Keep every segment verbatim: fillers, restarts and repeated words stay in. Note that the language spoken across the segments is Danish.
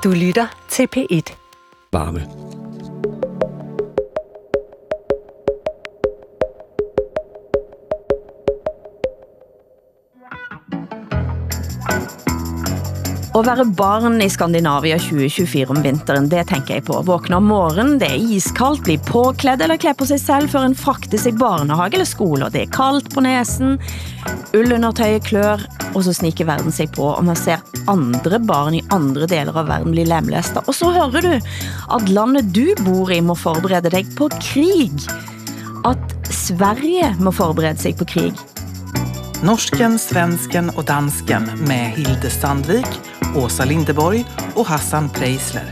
Du lytter til P et. Varme. Å være barn i Skandinavia tjue tjuefire om vinteren, det tenker jeg på. Våkne om morgenen, det er iskaldt, bli påkledd eller kle på seg selv før en fraktes i barnehage eller skole, og det er kaldt på nesen, ullundertøyet klør, og så sniker verden seg på, og man ser andre barn i andre deler av verden bli lemlestet. Og så hører du at landet du bor i må forberede deg på krig. At Sverige må forberede sig på krig. Norsken, svensken och dansken med Hilde Sandvik, Åsa Lindeborg och Hassan Preisler.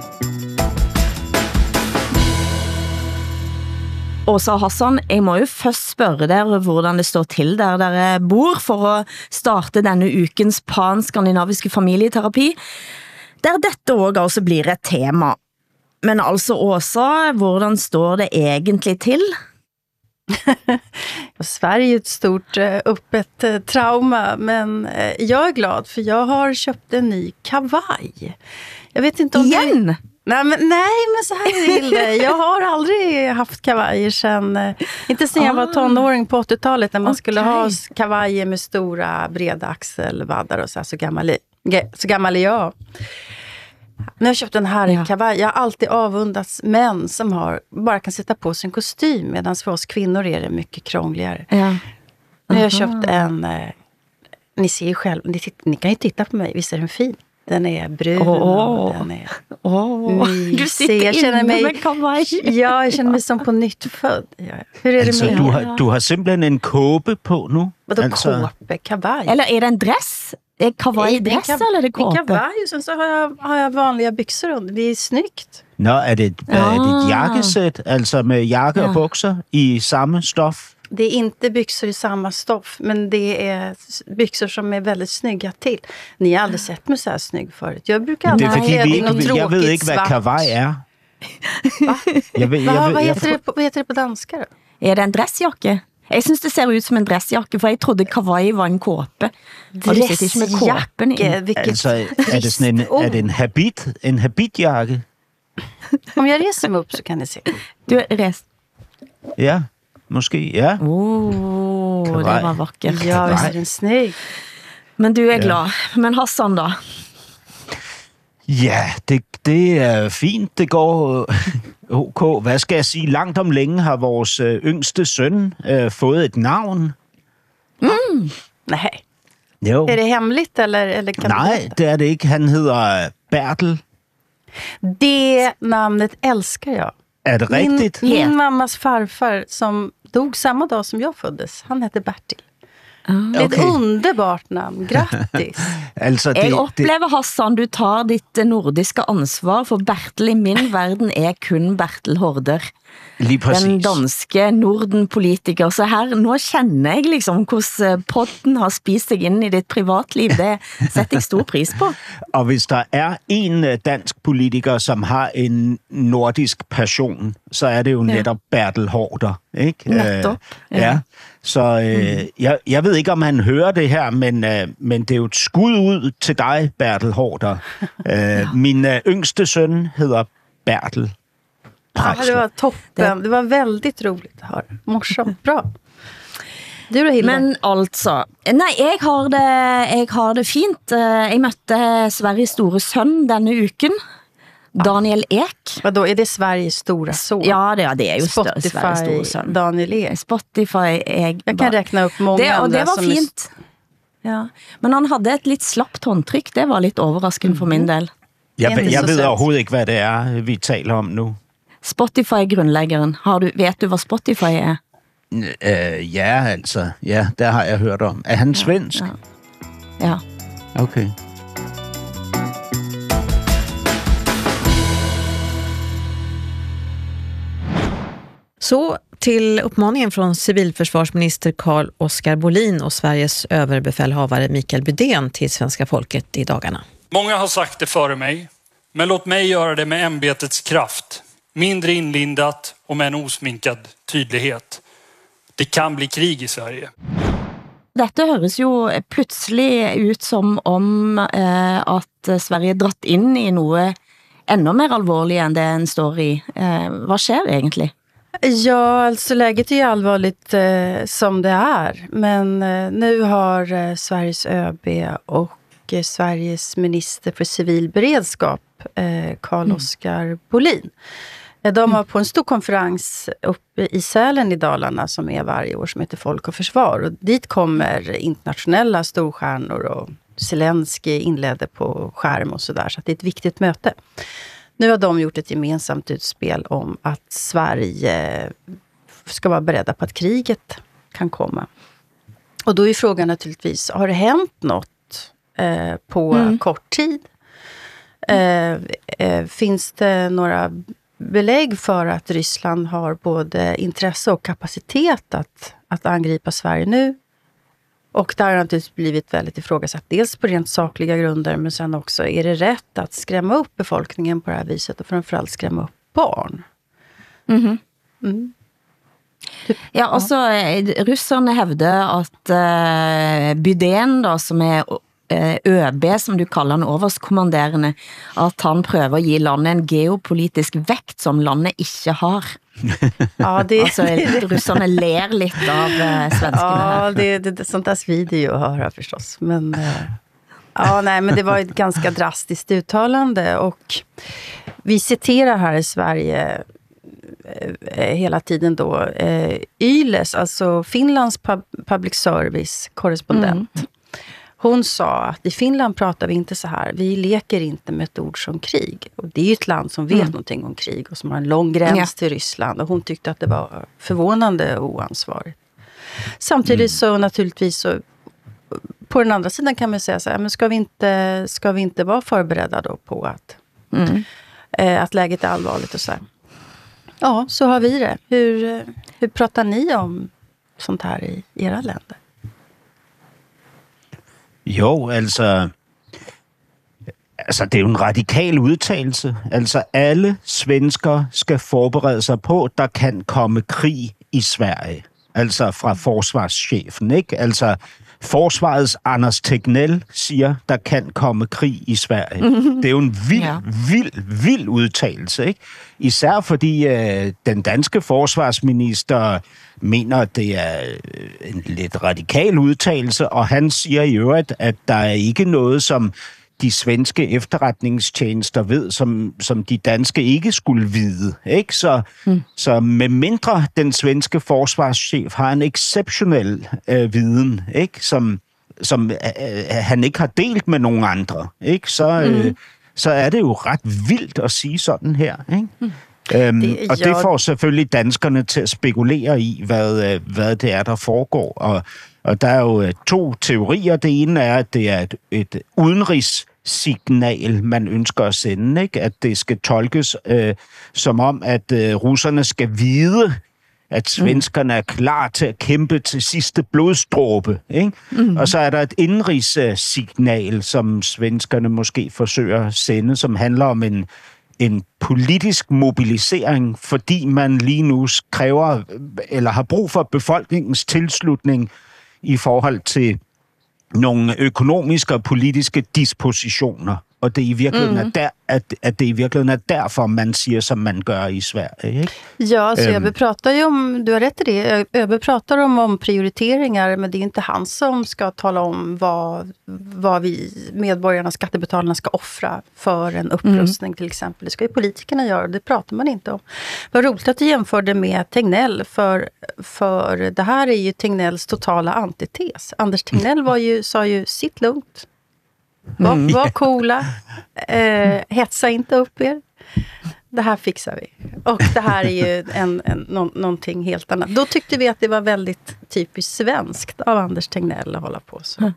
Åsa og Hassan, jeg må jo først spørre dere hvordan det står til der dere bor for å starte denne ukens pan-skandinaviske familieterapi, der dette også altså blir et tema. Men altså Åsa, hvordan står det egentlig til? Sverige är ett stort öppet trauma, men jag är glad för jag har köpt en ny kavaj. Jag vet inte om Igen? Det... Nej, men, nej, men så här är det. Jag har aldrig haft kavajer sen, inte sen jag var tonåring på åttiotalet när man okay. skulle ha kavajer med stora breda axelvaddar och så här, så gammal, så gammal är jag. När jag köpt den här ja. kavaj, jag har alltid avundats män som har, bara kan sätta på sig en kostym, medan för oss kvinnor är det mycket krångligare. Ja. Uh-huh. Nu har jag köpt en, eh, ni ser ju själv, ni, ni kan ju titta på mig, visst är den fin? Den är brun oh. och den är oh. Du sitter jag känner mig, med kavaj. Ja, jag känner mig som på nytt född. Ja. Hur är alltså, det med du har, du har simpelthen en kåpe på nu? Vadå alltså... kåpe? Kavaj? Eller är det en dress? Är det kavaj-dress kav- eller är det kåpe? En kavaj och sen så har jag, har jag vanliga byxor under. Det är snyggt. Nå, är det, ah. är det ett jakkesæt, alltså med jakke ja. och byxor i samma stoff? Det är inte byxor i samma stoff, men det är byxor som är väldigt snygga till. Ni har aldrig sett mig så här snygg förut. Jag brukar aldrig ha kläder i något tråkigt jag vet inte vad kavaj är. Va? Jag vet, Va? jag vet, vad, jag heter jag det på, vad heter det på danska då? Är det en dressjacke? Jeg synes det ser ut som en dressjakke, for jeg trodde kavaj var en kåpe. Dressjakke? Vilket altså, er det sådan en, er det en habit, en habitjakke? Om jeg reser mig upp så kan ni se. Du er rest. Ja, måske, ja. Oh, det var vakkert. Ja, visst er den snygg. Men du er glad. Men Hassan da? Ja, det, det er fint. Det går ok. Hvad skal jeg sige? Langt om længe har vores øh, yngste søn øh, fået et navn. Mm. Nej. Jo. Er det hemmeligt, eller, eller kan Nej, det er det ikke. Han hedder Bertel. Det namnet älskar jag. Er det min, rigtigt? Min yeah. mammas farfar som dog samma dag som jag föddes, han hette Bertil. Mm. Det är ett okay. underbart namn. Grattis. altså, det, jeg oplever, Hassan, du tar ditt nordiske ansvar, for Bertel i min verden er kun Bertel Haarder. Lige præcis. Den danske Norden-politiker. Så her, nå kjenner jeg liksom hvordan podden har spist sig ind i dit privatliv. Det sætter jeg stor pris på. Og hvis der er en dansk politiker, som har en nordisk passion, så er det jo netop ja. Bertel Haarder. Ikke? Netop. Ja. ja. Så øh, mm. jeg, jeg ved ikke, om han hører det her, men, øh, men det er jo et skud ud til dig, Bertel Haarder. ja. øh, min øh, yngste søn hedder Bertel. Ja, det var toppen. Det var väldigt roligt att höra. Morsomt, bra. Du då, Hilde? Men altså, nej, jeg har det, jeg har det fint. Jeg møtte Sveriges store søn denne uken. Daniel Ek. Vadå, är det Sveriges stora son? Ja, det, det är ju Spotify, Sveriges stora son. Daniel Ek. Spotify. Jag, jag kan räkna upp många det, och andra det var som fint. Är... Ja. Men han hade ett lite slappt håndtryck. Det var lite överraskande mm. för min del. Jeg, jeg ved overhovedet ikke, hvad det er, vi taler om nu. Spotify-grundlæggeren. Har du, vet du, hvad Spotify er? Øh, ja, altså. Ja, der har jeg hørt om. Er han svensk? Ja. ja. Okay. Så till uppmaningen från civilförsvarsminister Carl Oskar Bolin och Sveriges överbefälhavare Mikael Bydén till svenska folket i dagarna. Många har sagt det före mig, men låt mig göra det med ämbetets kraft. Mindre inlindat och med en osminkad tydlighet. Det kan bli krig i Sverige. Dette høres jo pludselig ut som om eh, at Sverige dratt in i noe ännu mer allvarligt än det en står i. Eh, vad sker egentlig? Ja, alltså läget är ju allvarligt eh, som det är. Men eh, nu har eh, Sveriges ÖB och eh, Sveriges minister för civil beredskap, eh, Carl-Oskar mm. Bolin. Eh, de var på en stor konferens uppe i Sälen i Dalarna som är varje år som heter Folk och Försvar. Och dit kommer internationella storstjärnor och Zelensky inledde på skärm och sådär. Så att det är ett viktigt möte. Nu har de gjort ett gemensamt utspel om att Sverige ska vara beredda på att kriget kan komma. Och då är frågan naturligtvis, har det hänt något eh, på mm. kort tid? Eh, eh, finns det några belägg för att Ryssland har både intresse och kapacitet att, att angripa Sverige nu? Och där har det naturligtvis blivit väldigt ifrågasatt. Dels på rent sakliga grunder, men sen också, är det rätt att skrämma upp befolkningen på det här viset? Och framförallt skrämma upp barn. Mm-hmm. Mm. Typ, ja, og så ja. Russerne hævder at uh, Bydén, da, som er uh, ÖB, som du kalder den overstkommanderende, at han prøver at give landet en geopolitisk vægt, som landet ikke har. Ja, det, alltså, russarna ler lite av uh, svenskarna. Ja, det, det, det, sånt där svider ju att höra förstås. Men, uh, ja, nej, men det var ett ganska drastiskt uttalande. Och vi citerar här i Sverige uh, hela tiden då uh, Yles, alltså Finlands pub, public service korrespondent. Mm. Hon sa att i Finland pratar vi inte så här. Vi leker inte med ett ord som krig. Och det är ju ett land som vet mm. någonting om krig och som har en lång gräns ja. till Ryssland. Och hon tyckte att det var förvånande och oansvarigt. Samtidigt mm. så naturligtvis så, på den andra sidan kan man säga så här, men ska vi inte, ska vi inte vara förberedda då på att, mm. eh, att läget är allvarligt och så här. Ja, så har vi det. Hur, hur pratar ni om sånt här i era länder? Jo, altså, altså det er jo en radikal udtalelse. Altså alle svensker skal forberede sig på, at der kan komme krig i Sverige. Altså fra forsvarschefen, ikke? Altså forsvarets Anders Tegnell siger, der kan komme krig i Sverige. Mm-hmm. Det er jo en vild, ja. vild, vild udtalelse, ikke? Især fordi øh, den danske forsvarsminister mener, at det er en lidt radikal udtalelse, og han siger i øvrigt, at der er ikke noget, som de svenske efterretningstjenester ved, som, som de danske ikke skulle vide. Ikke? Så, mm. så med mindre den svenske forsvarschef har en exceptionel øh, viden, ikke? Som, som øh, han ikke har delt med nogen andre, ikke? Så, øh, mm. så er det jo ret vildt at sige sådan her. Ikke? Mm. Øhm, det, og det får selvfølgelig danskerne til at spekulere i, hvad, hvad det er, der foregår. Og, og der er jo to teorier. Det ene er, at det er et, et udenrigssignal, man ønsker at sende. Ikke? At det skal tolkes øh, som om, at øh, russerne skal vide, at svenskerne er klar til at kæmpe til sidste blodstråbe. Ikke? Mm. Og så er der et indenrigssignal, som svenskerne måske forsøger at sende, som handler om en en politisk mobilisering, fordi man lige nu kræver eller har brug for befolkningens tilslutning i forhold til nogle økonomiske og politiske dispositioner. Og det i virkeligheden mm. er der, at, at det i virkeligheden er derfor, man siger, som man gør i Sverige. Ikke? Ja, så Öberg pratar ju om, du har rätt i det, Öberg pratar om, om prioriteringar, men det är inte han som ska tala om vad, vad vi medborgarna, skattebetalarna ska offra för en upprustning mm. till exempel. Det ska ju politikerna göra, det pratar man inte om. Vad roligt att du jämförde med Tegnell, för, för det här är ju Tegnells totala antites. Anders Tegnell var ju, sa ju, sitt lugnt. Var, Mm. var coola, eh, hetsa inte upp er. Det här fixar vi. Och det här är ju en, en, nå, någonting helt annat. Då tyckte vi att det var väldigt typiskt svenskt av Anders Tegnell att hålla på så. Mm.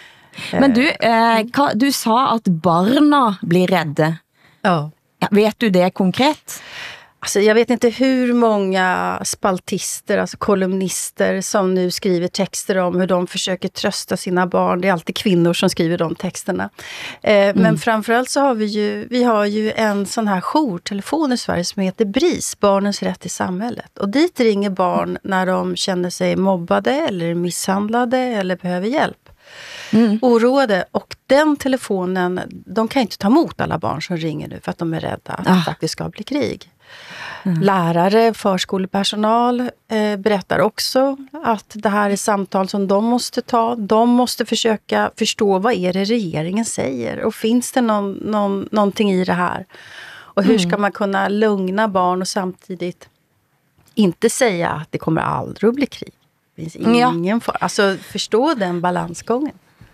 Men du, eh, du sa att barna blir rädda. Ja. Vet du det konkret? Alltså jag vet inte hur många spaltister, alltså kolumnister som nu skriver texter om hur de försöker trösta sina barn. Det är alltid kvinnor som skriver de texterna. Eh, mm. Men framförallt så har vi ju, vi har ju en sån här jourtelefon i Sverige som heter B R I S, Barnens rätt i samhället. Och dit ringer barn när de känner sig mobbade eller misshandlade eller behöver hjälp. Mm. Oroade, och den telefonen, de kan inte ta emot alla barn som ringer nu för att de är rädda att ah. det faktiskt ska bli krig. Mm. Lärare, förskolepersonal eh, berättar också att det här är samtal som de måste ta. De måste försöka förstå vad är det regeringen säger och finns det någon, någon, någonting i det här. Och hur ska man kunna lugna barn och samtidigt inte säga att det kommer aldrig att bli krig. Det finns ingen ja. for, alltså förstå den balansgången.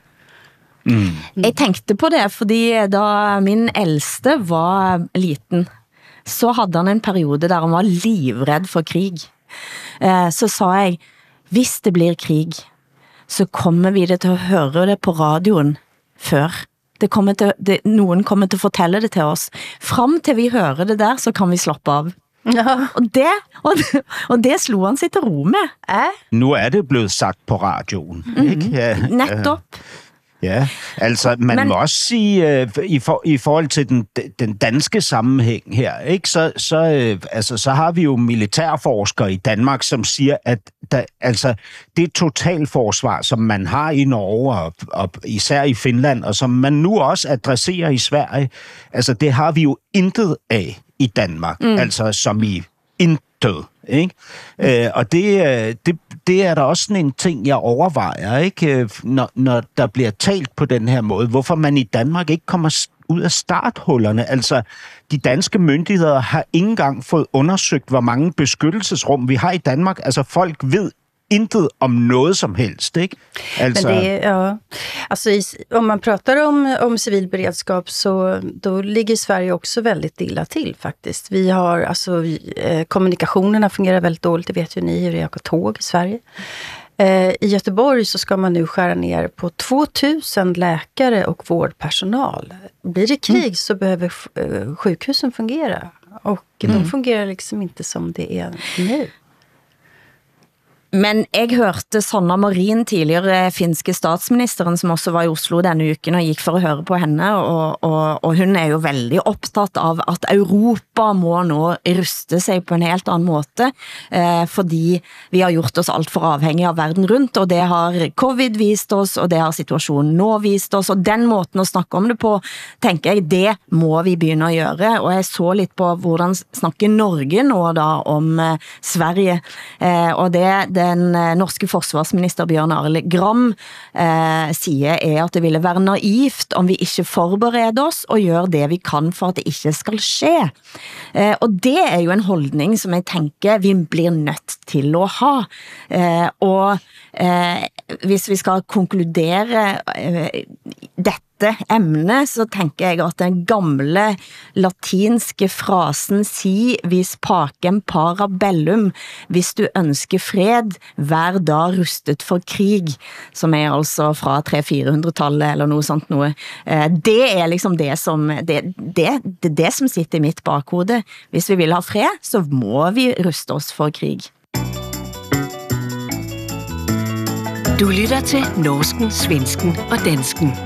Mm. Mm. Jeg tenkte på det, fordi da min ældste var liten, så havde han en periode der han var livredd for krig. Eh, så sa jeg, hvis det blir krig, så kommer vi det til at høre det på radioen før. Det kommer til, det, nogen kommer til at fortælle det til oss. Frem til vi hører det der, så kan vi slappe av. Ja. Og, det, og, det, og det slog han sig til ro med. Ja. Nu er det blevet sagt på radioen. Mm-hmm. Ikke? Ja, netop. Ja, altså man Men... må også sige, øh, i, for, i forhold til den, den danske sammenhæng her, ikke, så, så, øh, altså, så har vi jo militærforskere i Danmark, som siger, at der, altså, det totalforsvar, som man har i Norge, og, og især i Finland, og som man nu også adresserer i Sverige, altså det har vi jo intet af i Danmark, mm. altså som i intet. Ikke? Øh, og det, det, det er der også sådan en ting, jeg overvejer, ikke? Når, når der bliver talt på den her måde. Hvorfor man i Danmark ikke kommer ud af starthullerne. Altså, de danske myndigheder har ikke engang fået undersøgt, hvor mange beskyttelsesrum vi har i Danmark. Altså, folk ved intet om noget som helst, ikke? Altså... Men det, ja. Alltså, om man pratar om, om civil beredskap så då ligger Sverige också väldigt illa till faktiskt. Vi har, alltså, vi, eh, kommunikationerna fungerar väldigt dåligt, det vet ju ni hur det är att åka tåg i Sverige. Eh, I Göteborg så ska man nu skära ner på tvåtusen läkare och vårdpersonal. Blir det krig mm. så behöver eh, sjukhusen fungera. Och mm. de fungerar liksom inte som det är nu. Men jeg hørte Sanna Marin, tidligere finske statsministeren, som også var i Oslo denne uken, og gik for at høre på henne, og, og, og hun er jo veldig optaget av at Europa må nå ruste sig på en helt anden måte, eh, fordi vi har gjort oss alt for afhængige av verden rundt, og det har covid vist oss, og det har situationen nå vist oss, og den måten at snakke om det på, tenker jeg, det må vi begynde at gøre, og jeg så lidt på, hvordan snakker Norge nå da om eh, Sverige, eh, og det, det den norske forsvarsminister Bjørn Arild Gram eh, siger, er at det ville være naivt om vi ikke forbereder oss og gør det vi kan for at det ikke skal ske. Eh, og det er jo en holdning som jeg tænker vi blir nødt til at ha. Eh, og eh, hvis vi skal konkludere eh, dette emne, så tænker jeg at den gamle latinske frasen si, vis pacem para bellum, hvis du ønsker fred, vær da rustet for krig, som er altså fra tre til fire hundre-tallet eller noget sånt noe. Det er liksom det som, det, det, det, det som sitter i mitt bakhode. Hvis vi vil ha fred, så må vi ruste oss for krig. Du lytter til norsken, svensken og dansken.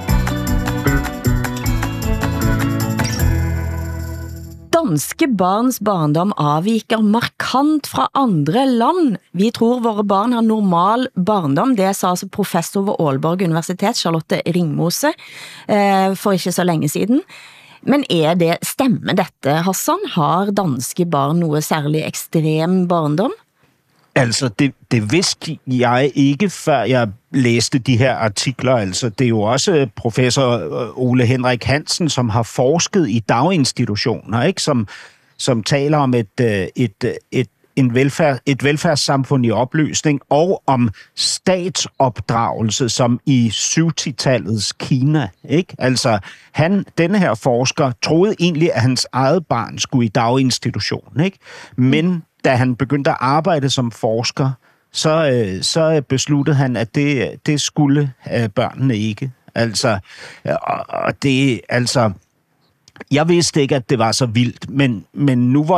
Danske barns barndom avviker markant fra andre land. Vi tror våre barn har normal barndom. Det sa altså professor ved Aalborg Universitet, Charlotte Ringmose, eh, for ikke så længe siden. Men er det, stemmer dette, Hassan? Har danske barn noget særlig ekstrem barndom? Altså, det, det vidste jeg ikke, før jeg læste de her artikler. Altså, det er jo også professor Ole Henrik Hansen, som har forsket i daginstitutioner, ikke? Som, som taler om et, et, et, en velfærd, et velfærdssamfund i opløsning, og om statsopdragelse, som i syv-ti-tallets Kina. Ikke? Altså, han, denne her forsker troede egentlig, at hans eget barn skulle i daginstitution, ikke? Men da han begyndte at arbejde som forsker, så, øh, så besluttede han, at det, det skulle øh, børnene ikke. Altså, og, og det, altså, jeg vidste ikke, at det var så vildt, men, men nu hvor jeg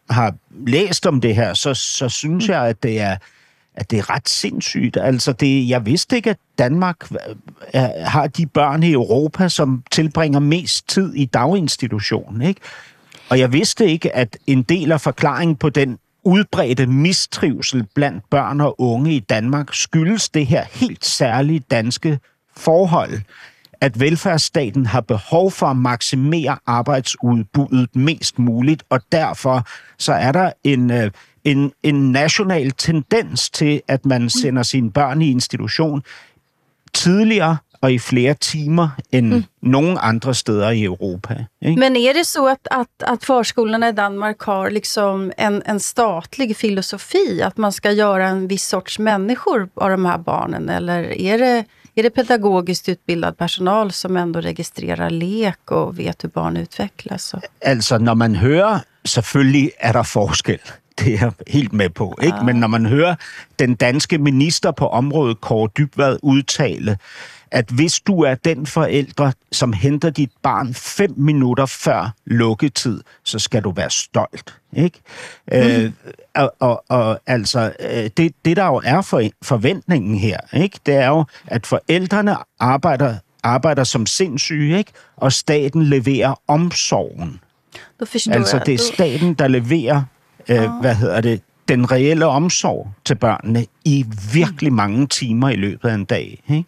har læst om det her, så, så synes jeg, at det er at det er ret sindssygt. Altså, det, jeg vidste ikke, at Danmark er, har de børn i Europa, som tilbringer mest tid i daginstitutionen, ikke? Og jeg vidste ikke, at en del af forklaringen på den udbredte mistrivsel blandt børn og unge i Danmark skyldes det her helt særlige danske forhold, at velfærdsstaten har behov for at maksimere arbejdsudbuddet mest muligt, og derfor så er der en, en, en national tendens til, at man sender sine børn i institution tidligere og i flere timer end mm. nogen andre steder i Europa. Ikke? Men är det så att, att, att förskolorna i Danmark har liksom en, en statlig filosofi, att man ska göra en viss sorts människor av de här barnen, eller är det, är det pedagogiskt utbildad personal som ändå registrerar lek och vet hur barn utvecklas? Altså, når man hører, selvfølgelig er der forskel. Det er jeg helt med på, ikke? Ja. Men når man hører den danske minister på området, Kaare Dybvad, udtale, at hvis du er den forældre, som henter dit barn fem minutter før lukketid, så skal du være stolt, ikke? Mm. Øh, og, og, og altså, det, det der jo er for, forventningen her, ikke? Det er jo, at forældrene arbejder, arbejder som sindssyge, ikke? Og staten leverer omsorgen. Altså, det er staten, der leverer, øh, hvad hedder det, den reelle omsorg til børnene i virkelig mange timer i løbet af en dag, ikke?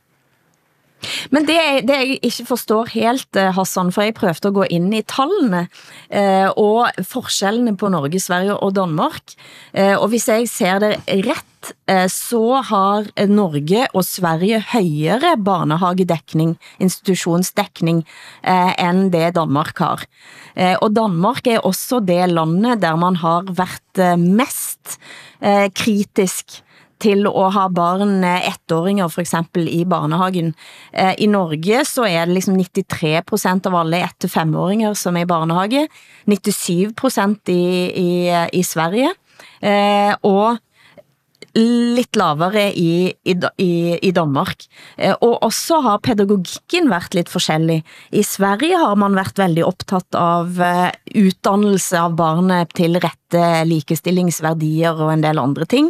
Men det, det jeg ikke forstår helt, Hassan, for jeg prøvde at gå ind i tallene eh, og forskellene på Norge, Sverige og Danmark. Eh, og hvis jeg ser det rett, eh, så har Norge og Sverige højere barnehagedekning, institutionsdekning, eh, end det Danmark har. Eh, og Danmark er også det landet der man har været eh, mest eh, kritisk til at ha barn ettåringer for eksempel i barnehagen. I Norge så er det liksom nittitre prosent av alle ett til femåringer som er i barnehage, nittisju prosent i, i, i Sverige, og lidt lavere i, i, i, i Danmark. Og også har pedagogikken været lidt forskellig. I Sverige har man været veldig optaget av uddannelse av barnet til rette likestillingsværdier og en del andre ting.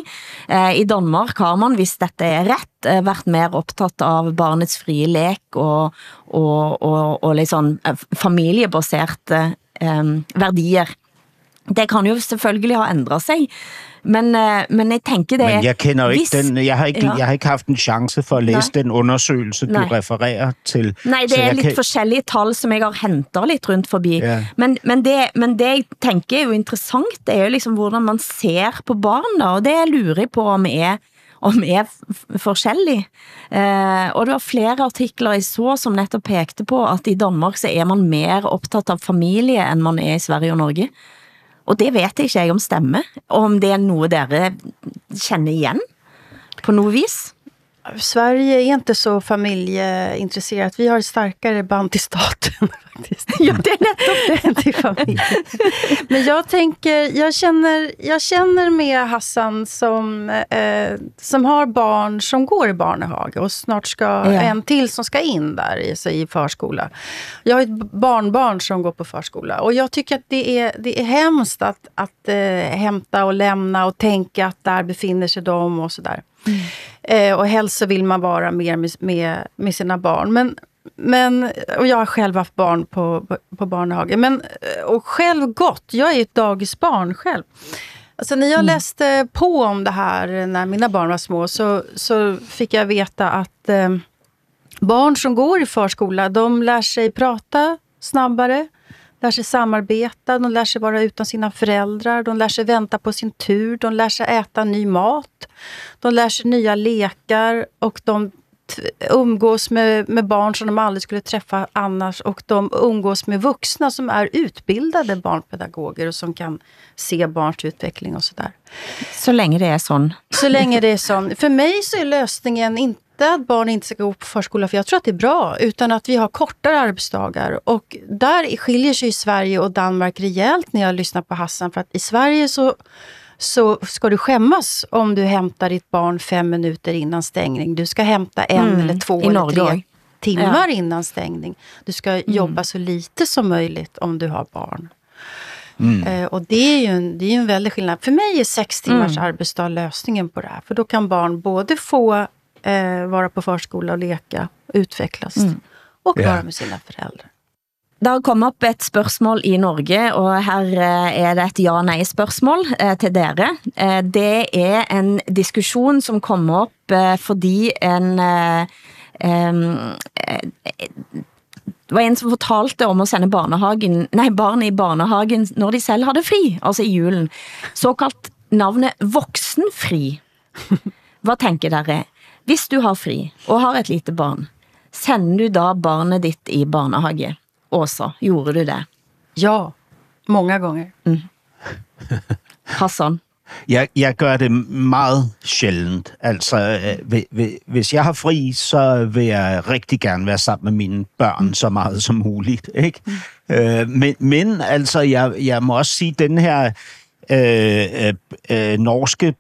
I Danmark har man, hvis dette er rett, været mer optaget av barnets frie lek og, og, og, og liksom familiebaserte um, værdier. Det kan jo selvfølgelig ha ændret sig, men, men jeg tænker det... Men jeg kender jo ikke hvis, den, jeg har ikke, ja. jeg har ikke haft en chance for at læse Nej. den undersøgelse, Nej. du refererer til. Nej, det er lidt kan... forskellige tal, som jeg har hentet lidt rundt forbi. Ja. Men, men, det, men det jeg tænker er jo interessant, det er jo liksom, hvordan man ser på barn, og det jeg lurer på om er om er forskellig. Eh, og det var flere artikler jeg så, som netop pekte på, at i Danmark så er man mer optaget av familie, end man er i Sverige og Norge. Og det vet jeg ikke jeg om stemme, og om det er noget dere känner igen på något vis. Sverige är inte så familjeintresserat. Vi har ett starkare band till staten faktiskt. Ja, det är nettopp det till familjen. Men jag tänker, jag känner, jag känner med Hassan som, eh, som har barn som går i barnehage och snart ska ja. en till som ska in där i, så i förskola. Jag har ett barnbarn som går på förskola och jag tycker att det är, det är hemskt att, att eh, hämta och lämna och tänka att där befinner sig de och sådär. Mm. Eh, och helst så vill man vara mer med, med, med sina barn. Men, men, och jag har själv haft barn på, på, på barnehage. Men, och själv gått. Jag är ett dagisbarn själv. Alltså när jag mm. läste på om det här när mina barn var små så, så fick jag veta att eh, barn som går i förskola, de lär sig prata snabbare. Lär sig samarbeta, de lär sig vara utan sina föräldrar, de lär sig vänta på sin tur, de lär sig äta ny mat, de lär sig nya lekar och de umgås med, med barn som de aldrig skulle träffa annars och de umgås med vuxna som är utbildade barnpedagoger och som kan se barns utveckling och sådär. Så länge det är sån. Så länge det är sån. För mig så är lösningen inte att barn inte ska gå på förskola, för jag tror att det är bra, utan att vi har kortare arbetsdagar. Och där skiljer sig Sverige och Danmark rejält när jag lyssnar på Hassan, för att i Sverige så, så ska du skämmas om du hämtar ditt barn fem minuter innan stängning. Du ska hämta en mm, eller två eller tre timmar ja. innan stängning. Du ska mm. jobba så lite som möjligt om du har barn. Mm. Eh, och det är ju en, det är ju en väldig skillnad. För mig är sex timmars mm. arbetsdag lösningen på det här. För då kan barn både få eh, vara på förskola og leka, utvecklas mm. och vara yeah. med sina föräldrar. Det har kommet op et spørgsmål i Norge, og her er det et ja-nej-spørgsmål eh, til dere. Eh, det er en diskussion, som kommer op, eh, fordi en... Eh, eh, det var en, som fortalte om at sende barnehagen, nej, barn i barnehagen, når de selv hadde fri, altså i julen. Såkaldt navnet voksenfri. Hvad tænker dere? Hvis du har fri, og har et lite barn, sender du da barnet ditt i barnehage? Åsa, gjorde du det? Ja, många gånger. Mm. Hassan? Jeg, jeg gør det meget sjældent. Altså, hvis jeg har fri, så vil jeg rigtig gerne være sammen med mine børn så meget som muligt. Ikke? Mm. Øh, men, men altså, jeg, jeg må også sige, den her øh, øh, norske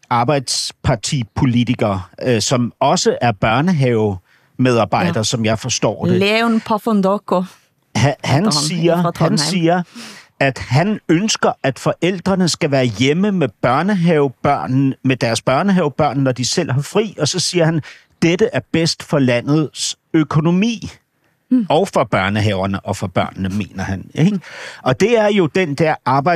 arbejdspartipolitiker, øh, som også er børnehavemedarbejder, ja. Som jeg forstår det. Leon Pafondoko. Han, han, siger, han siger, at han ønsker, at forældrene skal være hjemme med børnehavebørn, med deres børnehavebørn, når de selv har fri, og så siger han, dette er bedst for landets økonomi. Mm. Og for børnehaverne og for børnene, mener han. Ikke? Og det er jo den der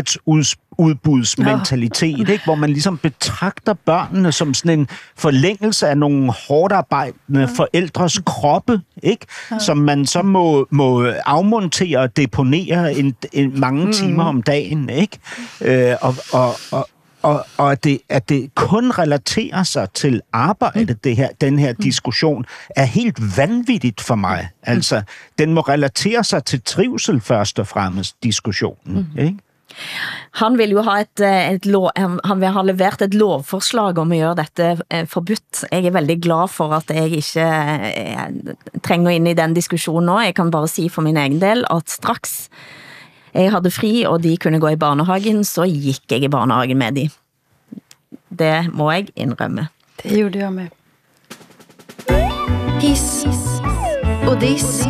arbejdsudbudsmentalitet, ja. Ikke? Hvor man ligesom betragter børnene som sådan en forlængelse af nogle hårdt arbejdende ja. Forældres kroppe, ikke? Ja. Som man så må, må afmontere og deponere en, en mange mm. timer om dagen. Ikke? Øh, og, og, og Og, og at, det, at det kun relaterer sig til arbejde, det her, den her diskussion, er helt vanvittigt for mig. Altså, den må relatere sig til trivsel først og fremmest, diskussionen. Mm. Ikke? Han vil jo ha et, et lov, han vil ha levert et lovforslag om at gøre dette forbudt. Jeg er veldig glad for at jeg ikke jeg trænger ind i den diskussionen nå. Jeg kan bare sige for min egen del, at straks jeg havde fri, og de kunne gå i barnehagen, så gik jeg i barnehagen med de. Det må jeg indrømme. Det gjorde jeg med. Hiss och diss.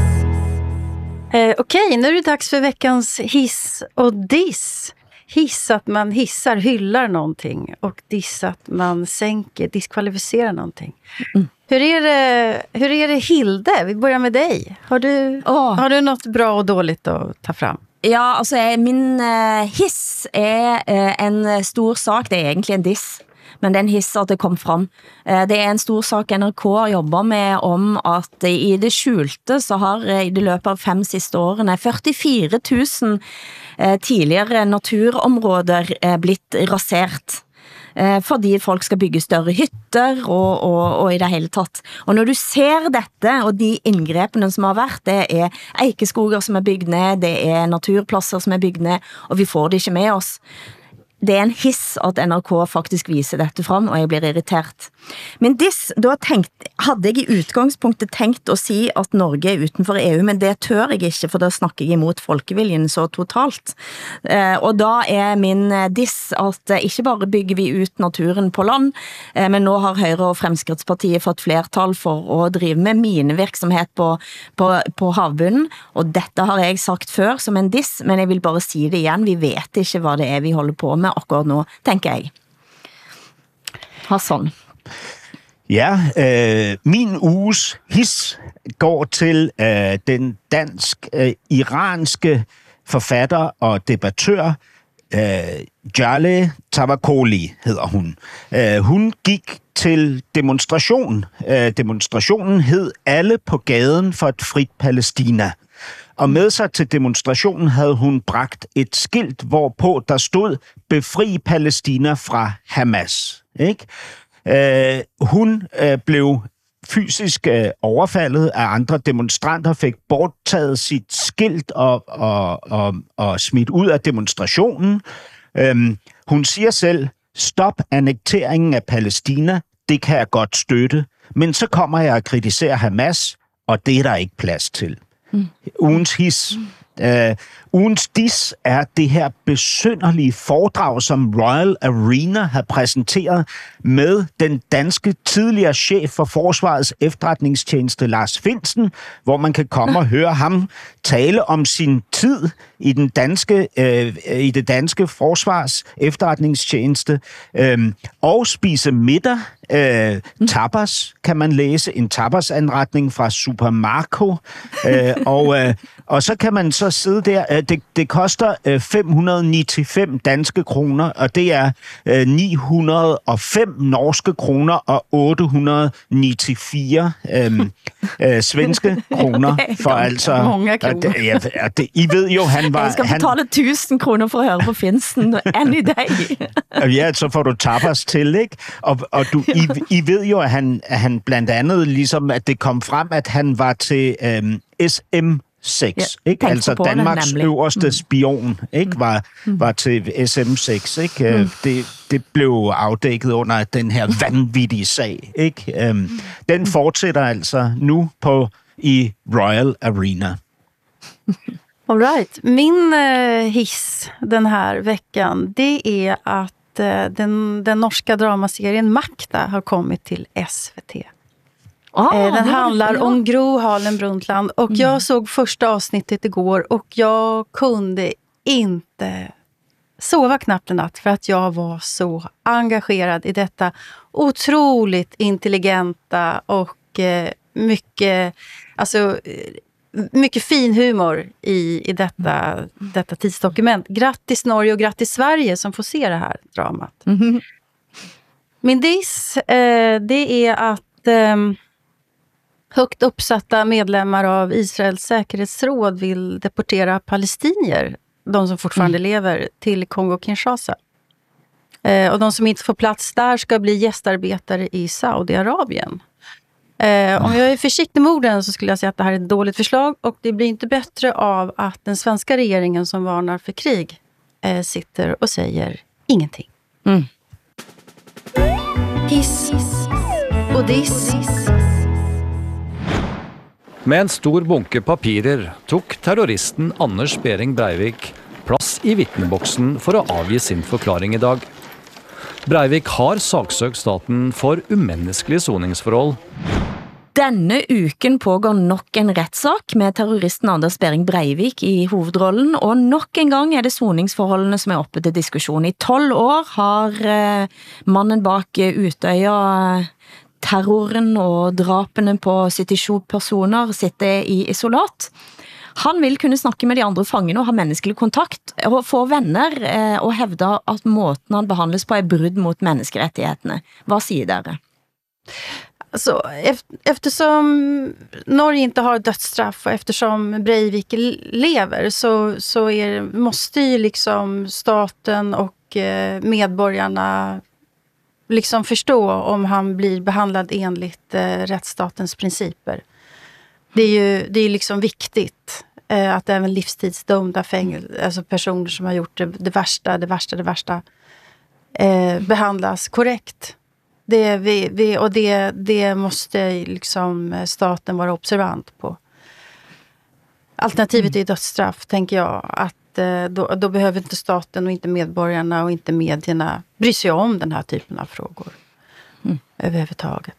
Eh, Okej, okay, nu är det dags för veckans hiss och diss. Hiss att man hissar, hyllar någonting, och diss att man sänker, diskvalificerar någonting. Mm. Hur är det, hur är det Hilde? Vi börjar med dig. Har du, oh. har du något bra och dåligt att ta fram? Ja, altså min uh, hiss er uh, en stor sak. Det er egentlig en diss, men det er en hiss at det kom frem. Uh, det er en stor sak N R K jobber med om at uh, i det skjulte så har uh, i det løpet av fem siste årene førtifire tusen uh, tidligere naturområder uh, blitt rasert. Fordi folk skal bygge større hytter og, og, og i det hele tatt. Og når du ser dette, og de indgrepene som har vært, det er eikeskoger som er bygd ned, det er naturplasser som er bygd ned, og vi får det ikke med oss. Det er en hiss at N R K faktisk viser dette frem, og jeg blir irritert. Men diss, da tenkt, hadde jeg i utgangspunktet tenkt å si at Norge er utenfor E U, men det tør jeg ikke, for da snakker jeg imot folkeviljen så totalt. Eh, og da er min diss at eh, ikke bare bygger vi ut naturen på land, eh, men nå har Høyre og Fremskrittspartiet fått flertall for å drive med minevirksomhet på, på, på havbunnen, og dette har jeg sagt før som en diss, men jeg vil bare si det igjen, vi vet ikke hva det er vi holder på med akkurat nu, tænker jeg. Hassan. Ja, øh, min uges his går til øh, den dansk-iranske forfatter og debattør øh, Jaleh Tavakoli, hedder hun. Øh, hun gik til demonstration. Øh, demonstrationen hed Alle på gaden for et frit Palæstina. Og med sig til demonstrationen havde hun bragt et skilt, hvorpå der stod, befri Palæstina fra Hamas. Ikke? Øh, hun øh, blev fysisk øh, overfaldet af andre demonstranter, fik borttaget sit skilt og, og, og, og smidt ud af demonstrationen. Øh, hun siger selv, stop annekteringen af Palæstina, det kan jeg godt støtte, men så kommer jeg at kritisere Hamas, og det er der ikke plads til. Mm. Ugens his. Mm. Uh, ugens diss er det her besynderlige foredrag, som Royal Arena har præsenteret med den danske tidligere chef for Forsvarets efterretningstjeneste, Lars Findsen, hvor man kan komme og høre ham tale om sin tid i den danske øh, i det danske forsvars efterretningstjeneste øh, og spise middag. Øh, tapas kan man læse, en tapasanretning fra Supermarco, øh, og, øh, og så kan man så sidde der. Øh, det, det koster øh, fem hundrede nittifem danske kroner, og det er øh, ni hundrede og fem norske kroner og otte hundrede nittifire øh, øh, svenske kroner. For altså, mange kroner. Øh, ja, det, I ved jo, han var... Jeg skal betale han, tusind kroner for at høre på Finsen any day. Ja, så får du tapas til, ikke? Og, og du, I, I ved jo, at han, at han blandt andet, ligesom at det kom frem, at han var til øhm, S M seks, ja, ikke? Altså Danmarks det, øverste spion, ikke? Var, var til S M seks, ikke? Mm. Det, det blev afdækket under den her vanvittige sag, ikke? Øhm, den fortsætter altså nu på i Royal Arena. All right. Min uh, hiss den här veckan, det är att uh, den, den norska dramaserien Makta har kommit till S V T. Ah, uh, den handlar ja. om Gro Harlem Brundtland och mm. jag såg första avsnittet igår och jag kunde inte sova knappt en natt för att jag var så engagerad i detta otroligt intelligenta och uh, mycket, alltså mycket fin humor i, i detta, detta tidsdokument. Grattis Norge och grattis Sverige som får se det här dramat. Mm-hmm. Min diss, eh, det är att eh, högt uppsatta medlemmar av Israels säkerhetsråd vill deportera palestinier, de som fortfarande mm. lever, till Kongo-Kinshasa. Eh, och de som inte får plats där ska bli gästarbetare i Saudiarabien. Eh, om jag är försiktig med orden så skulle jag säga att det här är ett dåligt förslag och det blir inte bättre av att den svenska regeringen som varnar för krig eh, sitter och säger ingenting. Mm. Hiss och diss. Med en stor bunke papirer tok terroristen Anders Behring Breivik plass i vittneboksen for å avgi sin forklaring i dag. Breivik har saksøkt staten for umenneskelige soningsforhold. Denne uken pågår nok en rettssak med terroristen Anders Behring Breivik i hovedrollen, og nok en gang er det soningsforholdene som er oppe til diskusjon. I tolv år har eh, mannen bak Utøya terroren og drapene på syttisju personer sitter i isolat. Han vil kunne snakke med de andre fangene og ha menneskelig kontakt og få venner eh, og hævde at måten han behandles på er brudd mot menneskerettighetene. Vad säger dere? Alltså, eftersom Norge inte har dödsstraff och eftersom Breivik lever så, så är, måste ju liksom staten och eh, medborgarna liksom förstå om han blir behandlad enligt eh, rättsstatens principer. Det är ju det är liksom viktigt eh, att även livstidsdömda fängel, alltså personer som har gjort det, det värsta, det värsta, det värsta eh, behandlas korrekt. Det, vi, vi, och det, det måste liksom staten vara observant på. Alternativet mm. är dödsstraff, tänker jag. Att eh, då, då behöver inte staten och inte medborgarna och inte medierna bry sig om den här typen av frågor. Mm. Överhuvudtaget.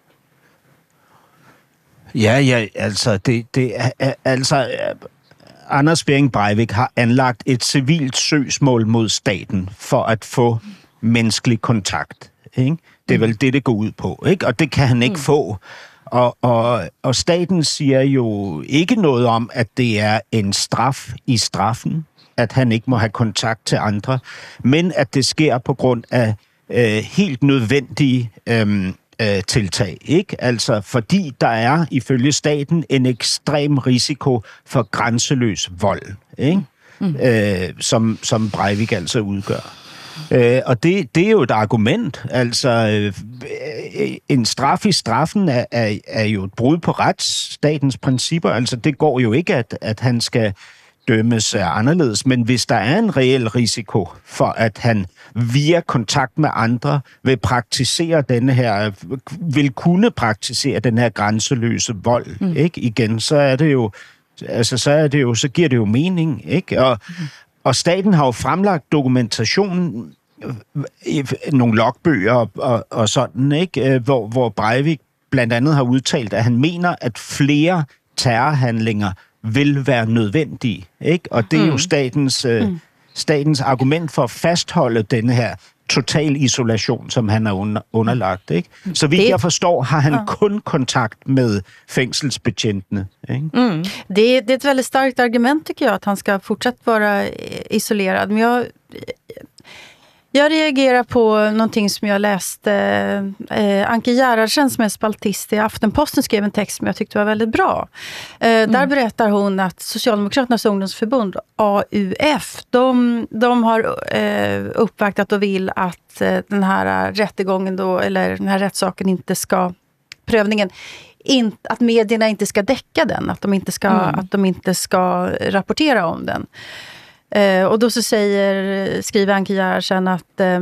Ja, ja, altså, det, det, altså, Anders Behring Breivik har anlagt et civilt søgsmål mod staten for at få menneskelig kontakt, ikke? Det er vel det, det går ud på, ikke? Og det kan han ikke mm. få. Og, og, og staten siger jo ikke noget om, at det er en straf i straffen, at han ikke må have kontakt til andre, men at det sker på grund af øh, helt nødvendige øh, øh, tiltag, ikke? Altså fordi der er ifølge staten en ekstrem risiko for grænseløs vold, ikke? Mm. Øh, som, som Breivik altså udgør. Øh, og det, det er jo et argument. Altså, øh, en straf i straffen er, er, er jo et brud på retsstatens principper. Altså, det går jo ikke, at, at han skal dømmes anderledes. Men hvis der er en reel risiko for, at han via kontakt med andre vil praktisere denne her, vil kunne praktisere den her grænseløse vold, mm. ikke? Igen, så er det jo, altså, så er det jo, så giver det jo mening, ikke? Og mm. Og staten har jo fremlagt dokumentation i nogle logbøger og, og, og sådan, ikke? Hvor, hvor Breivik blandt andet har udtalt, at han mener, at flere terrorhandlinger vil være nødvendige, ikke? Og det er jo statens, øh, statens argument for at fastholde denne her total isolation, som han er under, underlagt, ikke? Så vidt det, jeg forstår, har han ja. kun kontakt med fængselsbetjentene, ikke? Mm. Det, det är ett väldigt starkt argument tycker jag, att han ska fortsatt vara isolerad. Men jag, jag reagerar på någonting som jag läste. Eh, Anke Gerhardsen som är spaltist i Aftenposten skrev en text som jag tyckte var väldigt bra. Eh, mm. Där berättar hon att Socialdemokraternas ungdomsförbund, A U F, de, de har eh, uppvaktat och vill att eh, den här rättegången då, eller den här rättssaken inte ska, prövningen, in, att medierna inte ska täcka den, att de inte ska, mm. att de inte ska rapportera om den. Eh, och då så säger, skriver Anke Gerhardsen att eh,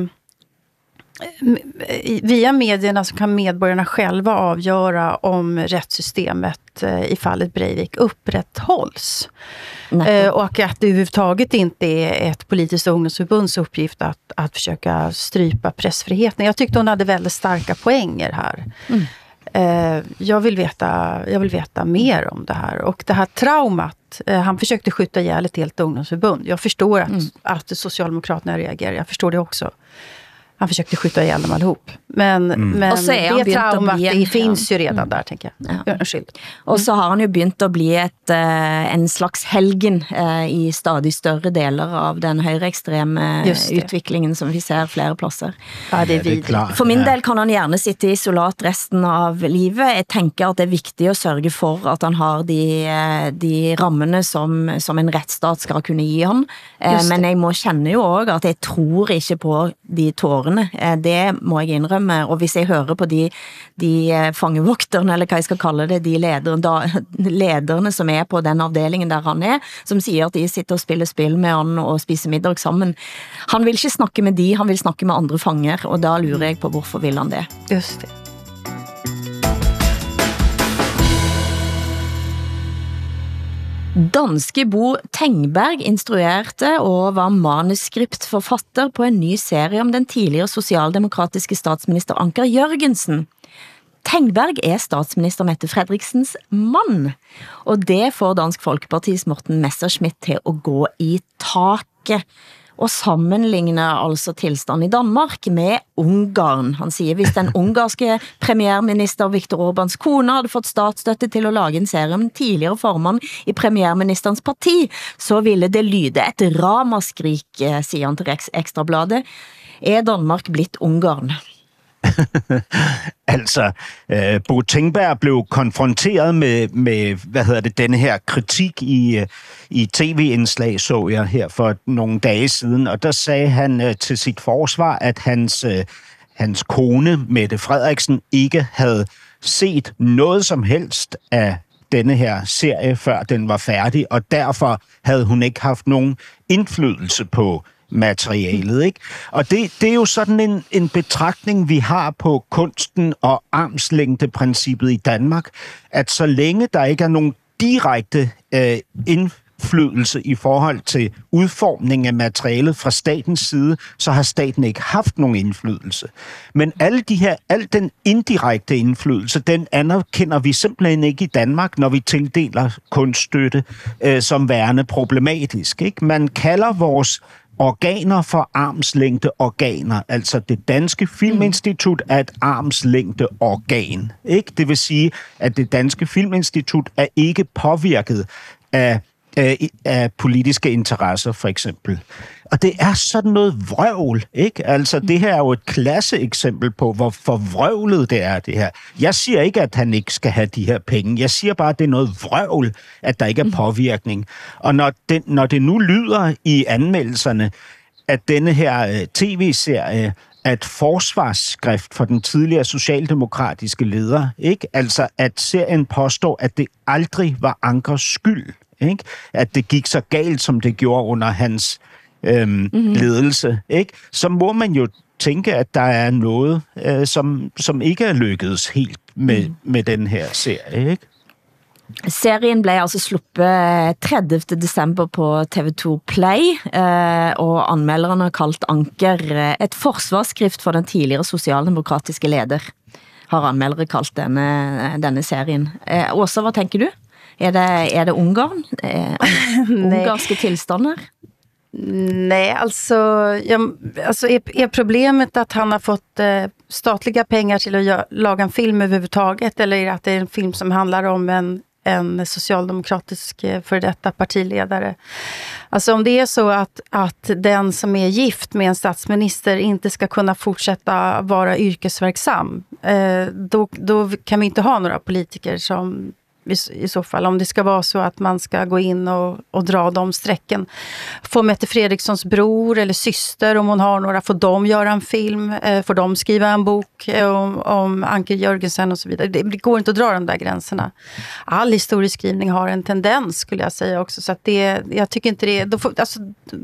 via medierna så kan medborgarna själva avgöra om rättssystemet eh, i fallet Breivik upprätthålls. Eh, och att det överhuvudtaget inte är ett politiskt ungdomsförbunds uppgift att, att försöka strypa pressfriheten. Jag tyckte hon hade väldigt starka poänger här. Mm. Eh, jag vill veta, jag vill veta mer om det här. Och det här traumat, eh, han försökte skjuta ihjäl ett helt ungdomsförbund. Jag förstår att, mm. att Socialdemokraterna reagerar, jag förstår det också. Han försökte skjuta ihjäl dem allihop. Men, mm. men det traumat, en, det finns ju redan mm. där, tänker jag. Ja. Unnskyld. Og så har han jo begynt at blive et, uh, en slags helgen uh, i stadig større deler av den højreekstreme utviklingen, som vi ser flere pladser. Ja, det er videre. For min del kan han gjerne sitte isolat resten av livet. Jeg tænker at det er vigtigt at sørge for, at han har de, de rammene, som, som en retsstat skal kunne give ham. Uh, men jeg må kende jo også, at jeg tror ikke på de tårer. Det må jeg indrømme, og hvis jeg hører på de, de fangevokterne, eller hvad jeg skal kalde det, de lederne, da, lederne som er på den afdelingen der han er, som siger at de sitter og spiller spil med han og spiser middag sammen. Han vil ikke snakke med de, han vil snakke med andre fanger, og da lurer jeg på, hvorfor vil han det? Just det. Danske Bo Tengberg instruerte og var manuskriptforfatter på en ny serie om den tidligere socialdemokratiske statsminister Anker Jørgensen. Tengberg er statsminister Mette Fredriksens mann, og det får Dansk Folkepartis Morten Messerschmidt til at gå i taket og sammenligne altså tilstand i Danmark med Ungarn. Han siger, hvis den ungarske premierminister Viktor Orbáns kone havde fått statsstøtte til at lage en serie om en tidligere formand i premierministerens parti, så ville det lyde et ramaskrik, siger han til Ekstrabladet. Er Danmark blitt Ungarn? altså, øh, Bo Tengberg blev konfronteret med, med, hvad hedder det, denne her kritik i, i tv-indslag, så jeg her for nogle dage siden, og der sagde han øh, til sit forsvar, at hans, øh, hans kone, Mette Frederiksen, ikke havde set noget som helst af denne her serie, før den var færdig, og derfor havde hun ikke haft nogen indflydelse på materialet, ikke? Og det, det er jo sådan en, en betragtning, vi har på kunsten og armslængdeprincippet i Danmark, at så længe der ikke er nogen direkte øh, indflydelse i forhold til udformning af materialet fra statens side, så har staten ikke haft nogen indflydelse. Men alle de her, al den indirekte indflydelse, den anerkender vi simpelthen ikke i Danmark, når vi tildeler kunststøtte øh, som værende problematisk, ikke? Man kalder vores organer for armslængde organer. Altså det danske filminstitut er et armslængde organ. Ikke? Det vil sige, at det danske filminstitut er ikke påvirket af, af, af politiske interesser, for eksempel. Og det er sådan noget vrøvl, ikke? Altså, det her er jo et klasseeksempel på, hvor forvrøvlet det er, det her. Jeg siger ikke, at han ikke skal have de her penge. Jeg siger bare, at det er noget vrøvl, at der ikke er påvirkning. Og når det, når det nu lyder i anmeldelserne, at denne her uh, tv-serie er et forsvarsskrift for den tidligere socialdemokratiske leder, ikke? Altså, at serien påstår, at det aldrig var Ankers skyld, ikke? At det gik så galt, som det gjorde under hans Øhm, mm-hmm. ledelse, ikke? Så må man jo tænke, at der er noget, øh, som, som ikke er lykkedes helt med, mm. med den her serie, ikke? Serien blev altså sluppet tredivte december på T V to Play, eh, og anmelderne har kaldt Anker et forsvarsskrift for den tidligere socialdemokratiske leder, har anmeldere kaldt denne, denne serien. Eh, Åsa, hvad tænker du? Är det, är det Ungarn? Eh, ungarska tillstånder? Nej, alltså, jag, alltså är, är problemet att han har fått eh, statliga pengar till att gö- laga en film överhuvudtaget, eller är det att det är en film som handlar om en, en socialdemokratisk eh, för detta partiledare? Alltså om det är så att, att den som är gift med en statsminister inte ska kunna fortsätta vara yrkesverksam, eh, då, då kan vi inte ha några politiker som i så fall, om det ska vara så att man ska gå in och, och dra de sträcken. Får Mette Fredrikssons bror eller syster, om hon har några, får de göra en film, eh, får de skriva en bok eh, om, om Anker Jörgensen och så vidare. Det, det går inte att dra de där gränserna. All historieskrivning har en tendens, skulle jag säga också, så att det, jag tycker inte det, då får, alltså,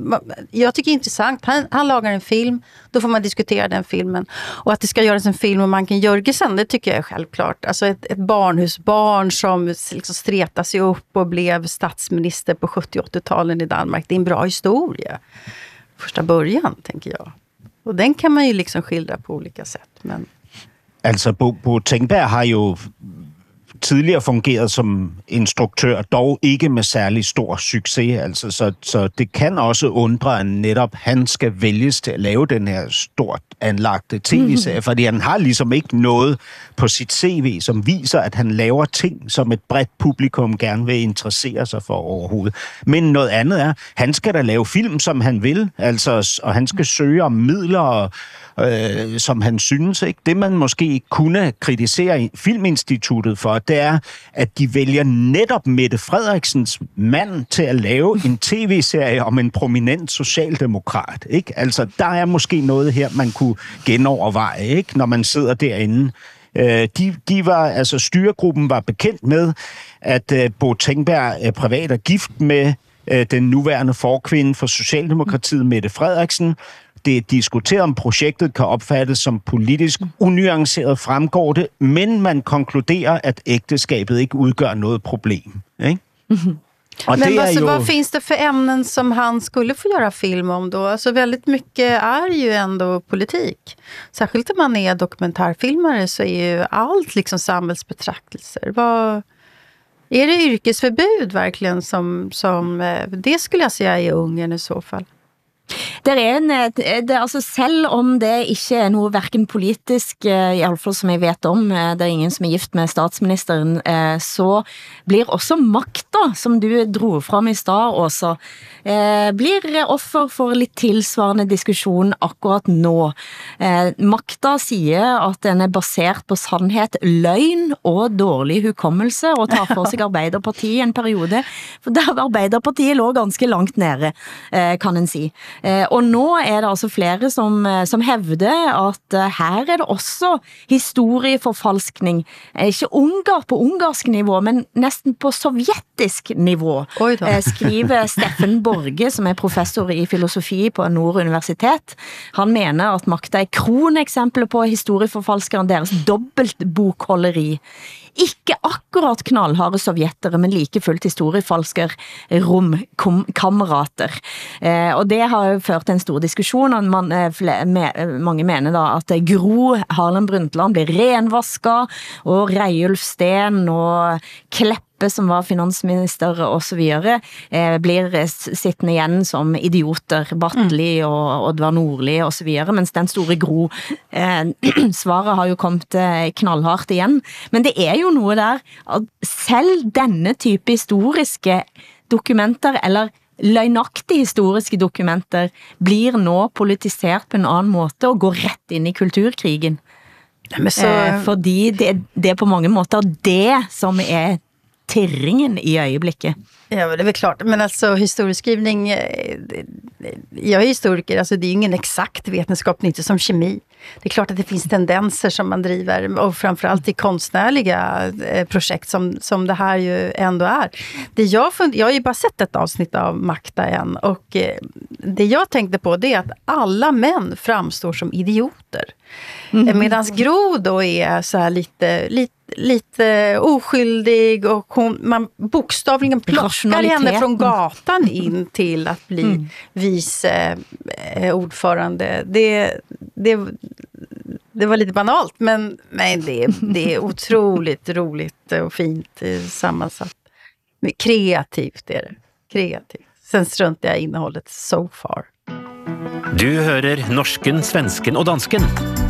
jag tycker det är intressant. Han, han lagar en film, då får man diskutera den filmen. Och att det ska göras en film om Anker Jörgensen, det tycker jag är självklart. Alltså ett, ett barnhusbarn som liksom streta sig upp och blev statsminister på sjuttio- och åttio-talen i Danmark. Det är en bra historia. Första början, tänker jag. Och den kan man ju liksom skildra på olika sätt. Men... Altså, Bo, Bo Tengberg har jo tidligere fungeret som instruktør, dog ikke med særlig stor succes. Altså, så, så det kan også undre, at netop han skal vælges til at lave den her stort anlagte tv-serie, mm. fordi han har ligesom ikke noget på sit C V, som viser, at han laver ting, som et bredt publikum gerne vil interessere sig for overhovedet. Men noget andet er, han skal da lave film, som han vil, altså, og han skal søge om midler, øh, som han synes. Ikke? Det, man måske kunne kritisere Filminstituttet for, det er, at de vælger netop Mette Frederiksens mand til at lave en tv-serie om en prominent socialdemokrat. Ikke? Altså, der er måske noget her, man kunne genoverveje, ikke? Når man sidder derinde. Øh, de, de var, altså styregruppen var bekendt med, at øh, Bo Tengberg er privat og gift med øh, den nuværende forkvinde for Socialdemokratiet, Mette Frederiksen. Det er diskuteret, om projektet kan opfattes som politisk unuanceret, fremgår det, men man konkluderer, at ægteskabet ikke udgør noget problem. Ikke? Mm-hmm. Och men det alltså, ju... vad finns det för ämnen som han skulle få göra film om då? Alltså väldigt mycket är ju ändå politik. Särskilt om man är dokumentärfilmare så är ju allt liksom samhällsbetraktelser. Vad... Är det yrkesförbud verkligen som, som det skulle jag säga i Ungern i så fall? Det er en, det, altså selv om det ikke er noe hverken politisk, i alle fall som jeg vet om, det er ingen som er gift med statsministeren, så blir også makta, som du dro fram i stad også, blir offer for litt tilsvarende diskusjon akkurat nå. Makta sier at den er basert på sannhet, løgn og dårlig hukommelse, og tar for seg Arbeiderpartiet en periode, for der Arbeiderpartiet lå ganske langt nede, kan en si. Eh, og nå er det altså flere som, som hævder at eh, her er det også historieforfalskning. Eh, ikke ungar på ungarsk nivå, men nesten på sovjetisk nivå. Eh, skriver Steffen Borge, som er professor i filosofi på Nord Universitet. Han mener at makta er kroneksempler på historieforfalskeren deres dobbeltbokholderi. Ikke akkurat knallharde sovjetere, men like fullt historiefalsker romkamerater. Eh, og det har jo ført en stor diskusjon, og man, eh, flere, me, mange mener da at Gro Harlem Brundtland blir renvasket, og Reiulf Steen og Kleppe, som var finansminister og så videre, eh, blir sittende igjen som idioter, Batteli og Oddvar Nordli og så videre, mens den store Gro, eh, svaret har jo kommet eh, knallhardt igjen. Men det er jo noe der, at selv denne type historiske dokumenter, eller løgnaktige historiske dokumenter, blir nå politisert på en annen måte og går rett inn i kulturkrigen. Men så... eh, fordi det, det er på mange måter det som er tirringen i ögonblicket. Ja, det är väl klart. Men alltså historieskrivning, jag är historiker, alltså det är ingen exakt vetenskap, inte som kemi. Det är klart att det finns tendenser som man driver, och framförallt i konstnärliga projekt som, som det här ju ändå är. Det jag, fund- jag har ju bara sett ett avsnitt av Makta än, och det jag tänkte på det är att alla män framstår som idioter. Mm. Medan Gro då är så här lite, lite lite oskyldig, och hon, man bokstavligen plockar henne från gatan in till att bli mm. vice eh, ordförande. Det, det, det var lite banalt, men, men det, det är otroligt roligt och fint sammansatt. Men kreativt är det. Kreativt. Sen struntar jag i innehållet so far. Du hører norsken, svensken og dansken.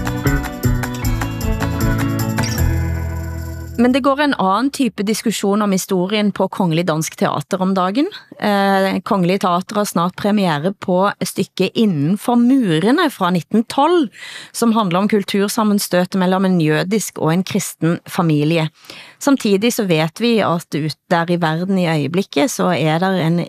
Men det går en annen type diskussion om historien på Kongelig Dansk Teater om dagen. Eh, Kongelig Teater har snart premiere på stykket Innenfor murene fra nitten tolv, som handler om kultursammenstøtet mellom en jødisk og en kristen familie. Samtidig så vet vi at ut der i verden i øjeblikket så er der en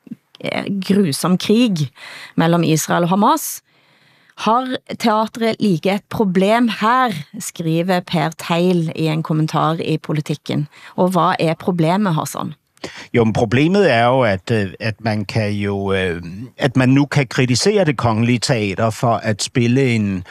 grusom krig mellom Israel og Hamas. Har teatret like et problem her, skriver Per Teil i en kommentar i Politikken. Og hvad er problemet, Hassan? Jo, men problemet er jo, at, at man kan jo, at man nu kan kritisere det kongelige teater for at spille en,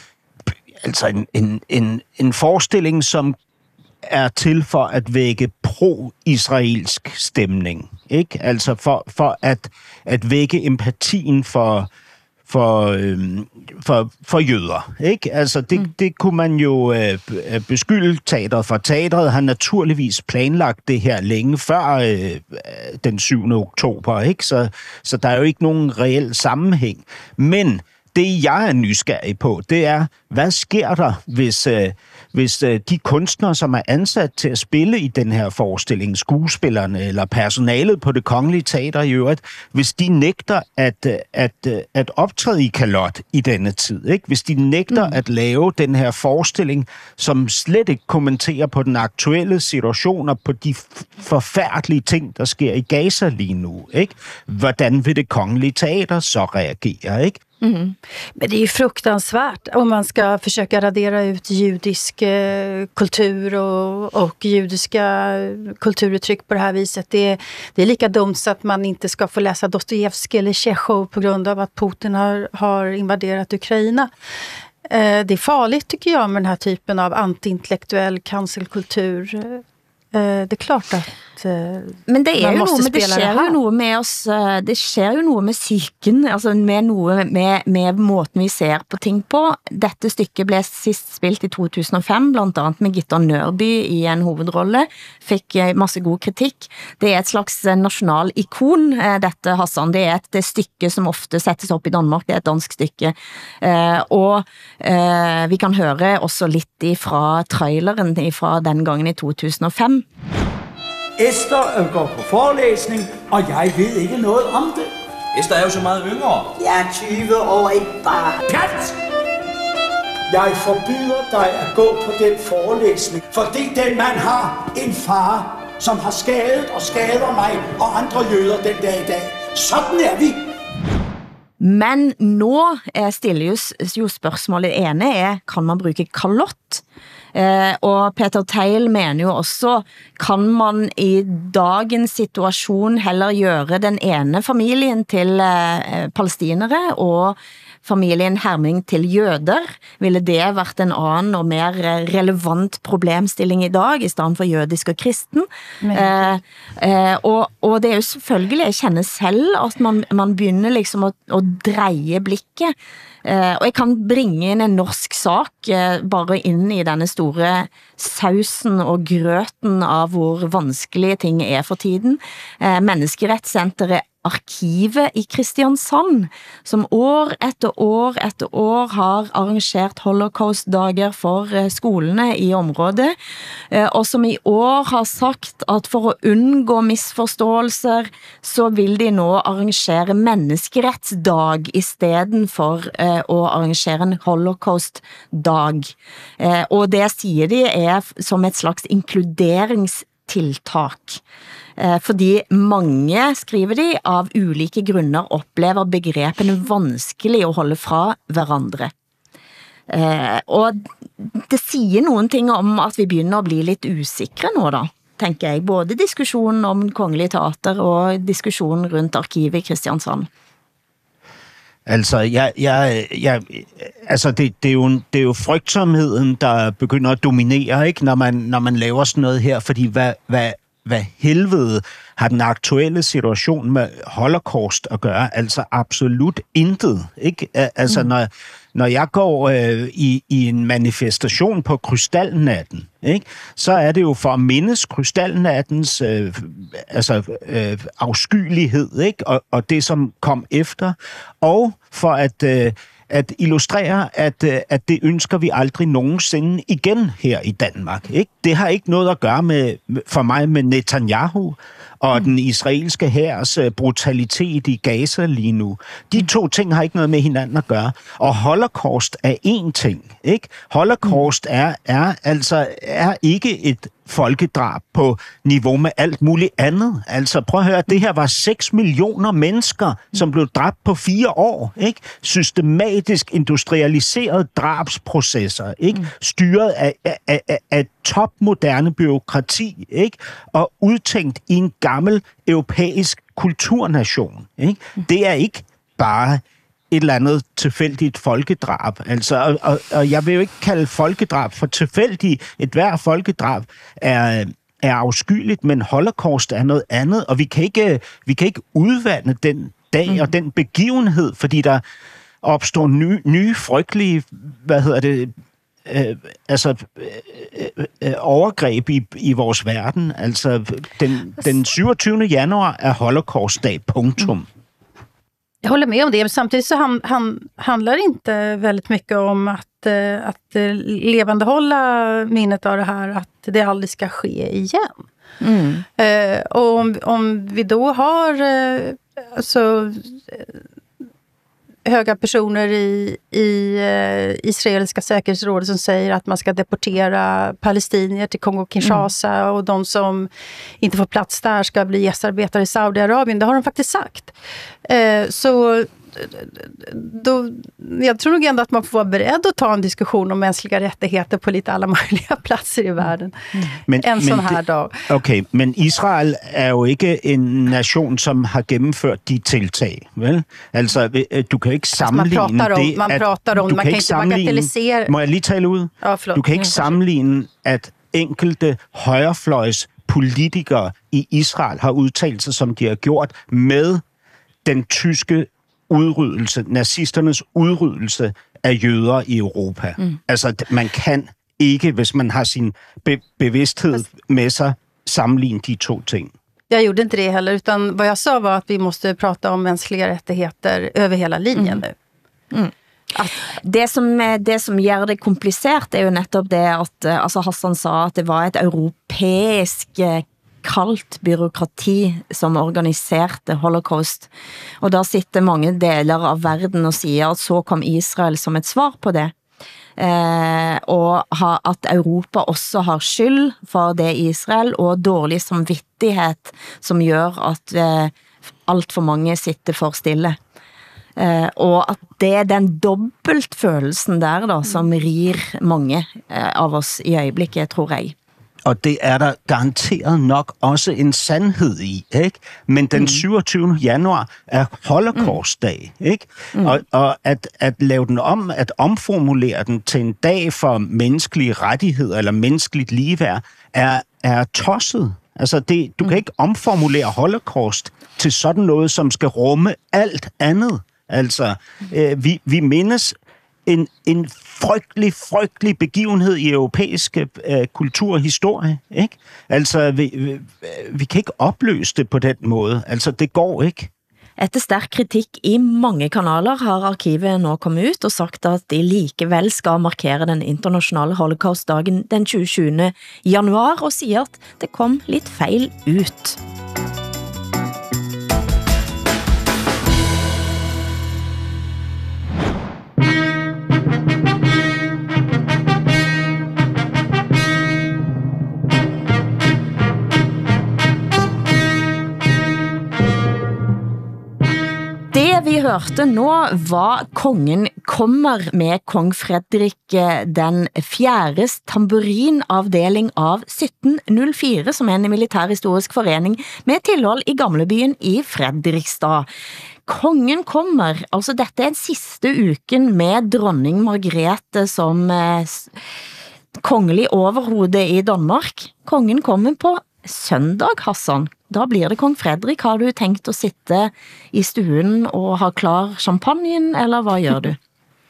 altså en, en, en, en forestilling, som er til for at vække pro-israelsk stemning, ikke? Altså for, for at, at vække empatien for For, øhm, for, for jøder, ikke? Altså, det, mm. det kunne man jo øh, beskylde teateret for. Teateret har naturligvis planlagt det her længe før øh, den syvende oktober, ikke? Så, så der er jo ikke nogen reel sammenhæng. Men det, jeg er nysgerrig på, det er, hvad sker der, hvis, øh, hvis øh, de kunstnere, som er ansat til at spille i den her forestilling, skuespillerne eller personalet på det kongelige teater i øvrigt, hvis de nægter at, at, at optræde i kalot i denne tid, ikke? Hvis de nægter mm. at lave den her forestilling, som slet ikke kommenterer på den aktuelle situation og på de forfærdelige ting, der sker i Gaza lige nu, ikke? Hvordan vil det kongelige teater så reagere, ikke? Mm. Men det är ju fruktansvärt om man ska försöka radera ut judisk eh, kultur och, och judiska kulturuttryck på det här viset. Det, det är lika dumt så att man inte ska få läsa Dostojevskij eller Tjechov på grund av att Putin har, har invaderat Ukraina. Eh, det är farligt tycker jag med den här typen av antiintellektuell cancelkultur. Eh, det är klart att Men det er jo noe med, det skjer jo noe med oss, det skjer jo noe med psyken, altså med noe med, med måten vi ser på ting på. Dette stykket ble sist spilt i to tusen og fem, blant annet med Gitta Nørby i en hovedrolle, fikk masse god kritikk. Det er et slags nasjonal ikon, dette, Hassan. Det er et det stykke som ofte settes opp i Danmark, det er et dansk stykke. Og vi kan høre også litt fra traileren fra den gangen i to tusen og fem. Esther går på forelæsning, og jeg ved ikke noget om det. Esther er jo så meget yngre. Jeg er tyve år, ikke bare. Kat! Jeg forbyder dig at gå på den forelæsning, fordi den mand har en far, som har skadet og skader mig og andre jøder den dag i dag. Sådan er vi. Men nå stiller jo, jo spørsmålet ene er, kan man bruke kalott? Eh, og Peter Teil mener jo også, kan man i dagens situasjon heller gjøre den ene familien til eh, palestinere og familien Herming til jøder? Ville det vært en annen og mer relevant problemstilling i dag, i stedet for jødisk og kristen? Eh, eh, og, og det er jo selvfølgelig, jeg kjenner selv at man, man begynner liksom å, å dreie blikket. Uh, og jeg kan bringe inn en norsk sak uh, bare inn i denne store sausen og grøten av hvor vanskelige ting er for tiden. Uh, Menneskerettssenteret Arkivet i Kristiansand, som år etter år etter år har arrangert holocaust-dager for uh, skolene i området, uh, og som i år har sagt at for å unngå misforståelser, så vil de nå arrangere menneskerettsdag i stedet for uh, å arrangere en holocaust-dag. Uh, og det sier de er som et slags inkluderingstiltak. Fordi mange, skriver de, av ulike grunner opplever begrepene vanskelig å holde fra hverandre. Eh, og det sier noen ting om at vi begynner å bli litt usikre nå da, tenker jeg. Både diskusjonen om Kongelig Teater og diskusjonen rundt arkivet i Kristiansand. Altså, jeg, jeg, jeg, altså det, det, er jo, det er jo frygtsomheden, der begynder at dominere, ikke? Når man, når man laver sådan noget her, fordi hvad, hvad hvad helvede har den aktuelle situation med Holocaust at gøre? Altså absolut intet, ikke? Altså, mm. når, når jeg går øh, i, i en manifestation på krystalnatten, ikke? Så er det jo for at mindes krystalnattens øh, altså, øh, afskyelighed, ikke? Og, og det, som kom efter, og for at... Øh, at illustrere, at, at det ønsker vi aldrig nogensinde igen her i Danmark. Ikke? Det har ikke noget at gøre med, for mig med Netanyahu og mm. den israelske hærs brutalitet i Gaza lige nu. De to ting har ikke noget med hinanden at gøre. Og Holocaust er én ting. Ikke? Holocaust er, er altså er ikke et folkedrab på niveau med alt muligt andet. Altså prøv at høre, det her var seks millioner mennesker, som blev dræbt på fire år. Ikke? Systematisk industrialiserede drabsprocesser, ikke? Styret af, af, af, af topmoderne byråkrati, ikke? Og udtænkt i en gammel europæisk kulturnation. Ikke? Det er ikke bare et eller andet tilfældigt folkedrab. Altså, og, og, og jeg vil jo ikke kalde folkedrab for tilfældigt. Et hver folkedrab er, er afskyeligt, men Holocaust er noget andet, og vi kan ikke, vi kan ikke udvande den dag mm. og den begivenhed, fordi der opstår nye, nye frygtelige, hvad hedder det, øh, altså øh, øh, overgreb i, i vores verden. Altså, den, den syvogtyvende januar er Holocaust-dag, punktum. Mm. Jag håller med om det, men samtidigt så han, han handlar inte väldigt mycket om att, att levandehålla minnet av det här, att det aldrig ska ske igen. Mm. Eh, och om, om vi då har eh, alltså, höga personer i, i eh, israeliska säkerhetsrådet som säger att man ska deportera palestinier till Kongo-Kinshasa mm. och de som inte får plats där ska bli gästarbetare i Saudiarabien. Det har de faktiskt sagt. Eh, så då, jag tror nog ändå att man får vara beredd att ta en diskussion om mänskliga rättigheter på lite alla möjliga platser i världen. Men, en sån här det, dag. Okay, men Israel er jo ikke en nation, som har gennemført de tiltag, vel? Altså, du kan ikke sammenligne altså, man prater om, det, man prater om, du man kan kan ikke bagatellisere. Må jeg lige tale ud? Ja, forlåt. Du kan ikke sammenligne, at enkelte højrefløjs politikere i Israel har udtalt sig, som de har gjort, med den tyske udryddelse, nazisternes udryddelse af jøder i Europa. Mm. Altså, man kan ikke, hvis man har sin be- bevidsthed med sig, sammenligne de to ting. Jag gjorde inte det heller, utan vad jag sa var att vi måste prata om mänskliga rättigheter över hela linjen mm. nu. Mm. At det, som, det som gjør det komplicert er jo nettopp det at altså Hassan sa at det var et europæisk kaldt byråkrati som organiserte Holocaust. Og der sitter mange deler av verden og siger at så kom Israel som et svar på det. Eh, og ha, at Europa også har skyld for det Israel, og dårlig samvittighet som gør at eh, alt for mange sitter for stille. Eh, og at det er den dobbeltfølelsen der da, som rir mange eh, av oss i øjeblikket, tror jeg. Og det er der garanteret nok også en sandhed i, ikke? Men den syvogtyvende januar er Holocaust-dag, ikke? Mm. Og, og at, at lave den om, at omformulere den til en dag for menneskelige rettigheder eller menneskeligt ligeværd, er, er tosset. Altså, det, du kan ikke omformulere Holocaust til sådan noget, som skal rumme alt andet. Altså, øh, vi, vi mindes en, en frygtelig, frygtelig begivenhed i europæisk øh, kultur og historie, ikke? Altså, vi, vi, vi kan ikke opløse det på den måde. Altså, det går ikke. Etter stærk kritik i mange kanaler har arkivet nå kommet ut og sagt at de likevel skal markere den internationale holocaustdagen den tyvende januar og siger at det kom lidt fejl ut. Vi hørte nå var kongen kommer med kong Frederik den fjerdes tamburinavdeling av sytten null fire, som er en militærhistorisk forening med tilhold i Gamlebyen i Fredrikstad. Kongen kommer, altså dette er den sidste uken med dronning Margrethe som eh, kongelig overhode i Danmark. Kongen kommer på søndag, Hassan, da blir det kong Frederik. Har du tænkt at sitte i stuen og ha klar champagnen, eller hvad gør du?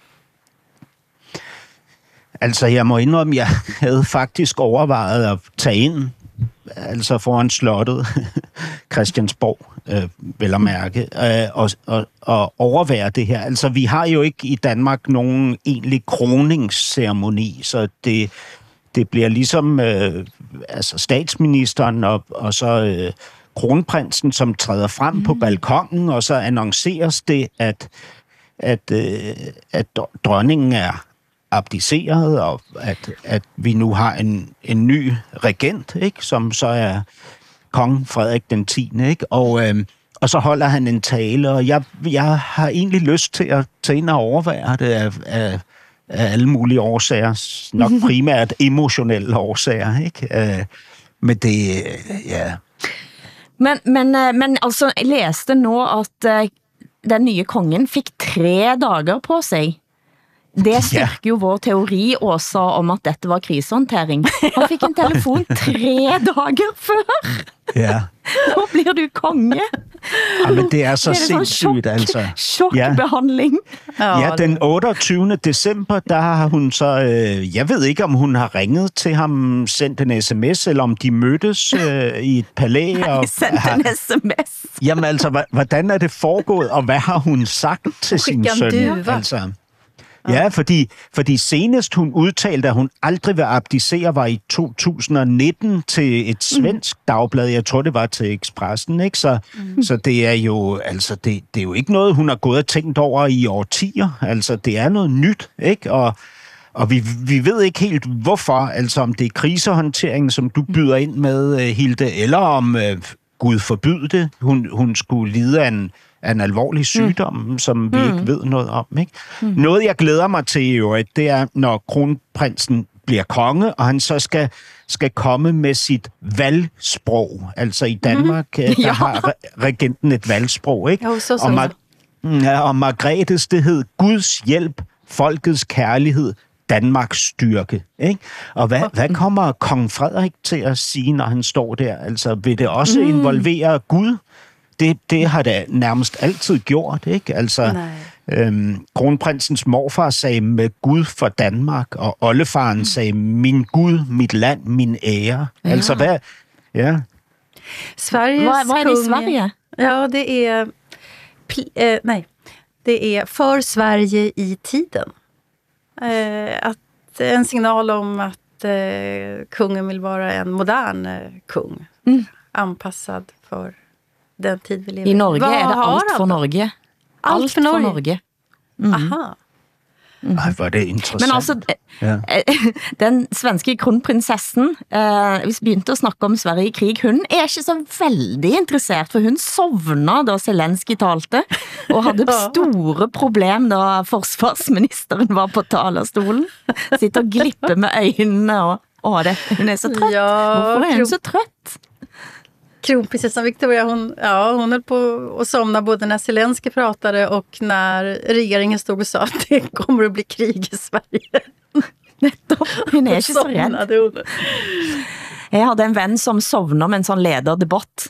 Altså, jeg må indrømme, jeg havde faktisk overvejet at tage ind, altså foran slottet, Christiansborg, øh, vel at mærke, øh, og, og, og overvære det her. Altså, vi har jo ikke i Danmark nogen egentlig kroningsceremoni, så det, det bliver ligesom øh, altså statsministeren og, og så øh, kronprinsen, som træder frem mm. på balkongen, og så annonceres det, at, at, øh, at dronningen er abdiceret, og at, at vi nu har en, en ny regent, ikke, som så er kong Frederik den tiende. Ikke? Og, øh, og så holder han en tale, og jeg, jeg har egentlig lyst til at tage ind og overvære det af, af, af alle mulige årsager, nok primært emotionelle årsager. Ikke? Øh, men det, ja... Men, men, men altså, jeg læste nu, at uh, den nye kongen fik tre dager på sig. Det styrker jo vår teori også om, at dette var krisehåndtering. Han fik en telefon tre dager før. Ja. Nu bliver du konge. Ja, men det er så det er sindssygt, altså. Chokbehandling. Ja. ja, den otteogtyvende december, der har hun så... Øh, jeg ved ikke, om hun har ringet til ham, sendt en sms, eller om de mødtes øh, i et palæ. Nej, og sendt har, en sms. Jamen altså, hvordan er det foregået, og hvad har hun sagt til sin søn? Altså... Ja, fordi, fordi senest hun udtalte, at hun aldrig vil abdicere, var i to tusind nitten til et svensk mm. dagblad. Jeg tror, det var til Expressen, ikke? Så, mm. så det er jo altså det, det er jo ikke noget, hun har gået og tænkt over i årtier. Altså, det er noget nyt, ikke? Og, og vi, vi ved ikke helt, hvorfor. Altså, om det er krisehåndteringen, som du byder ind med, Hilde, eller om, øh, Gud forbyde det, hun, hun skulle lide af en af en alvorlig sygdom, mm. som vi mm. ikke ved noget om. Ikke? Mm. Noget, jeg glæder mig til i øvrigt, det er, når kronprinsen bliver konge, og han så skal, skal komme med sit valgsprog. Altså i Danmark, mm. der ja. har regenten et valgsprog. Ikke? Jo, så, så. Og, Mar- ja, og Margrethes, det hed Guds hjælp, folkets kærlighed, Danmarks styrke. Ikke? Og hvad, hvad kommer kong Frederik til at sige, når han står der? Altså, vil det også mm. involvere Gud? Det, det har det nærmest altid gjort, ikke? Altså, øhm, kronprinsens morfar sagde med Gud for Danmark, og oldefaren mm. sagde, min Gud, mit land, min ære. Ja. Altså, hvad... Ja. Sveriges vad, vad är det i Sverige? Ja, det är... Pl- eh, nej, det är för Sverige i tiden. Eh, att, en signal om att eh, kungen vill vara en modern eh, kung. Mm. Anpassad för... den tid vi lever. I Norge Vad är det allt för Norge. Allt, allt för Norge? För Norge. Mm. Aha. Mm. Ej, hvor er det interessant. Men altså, ja. den svenske kronprinsessen, eh, vi begynte at snakke om Sverige i krig, hun er ikke så veldig interessert, for hun sovna da Zelensky talte, og havde store problem da forsvarsministeren var på talerstolen. Sitter og glipper med øjnene, og åh, det, hun er så trøtt. Ja, hvorfor er hun så trøtt? Kronprinsessan Victoria, hon, ja, hon höll på att somna både när Zelensky pratade och när regeringen stod och sa att det kommer att bli krig i Sverige. Hun er ikke så redd. Jeg havde en ven som sovner med en sån lederdebatt.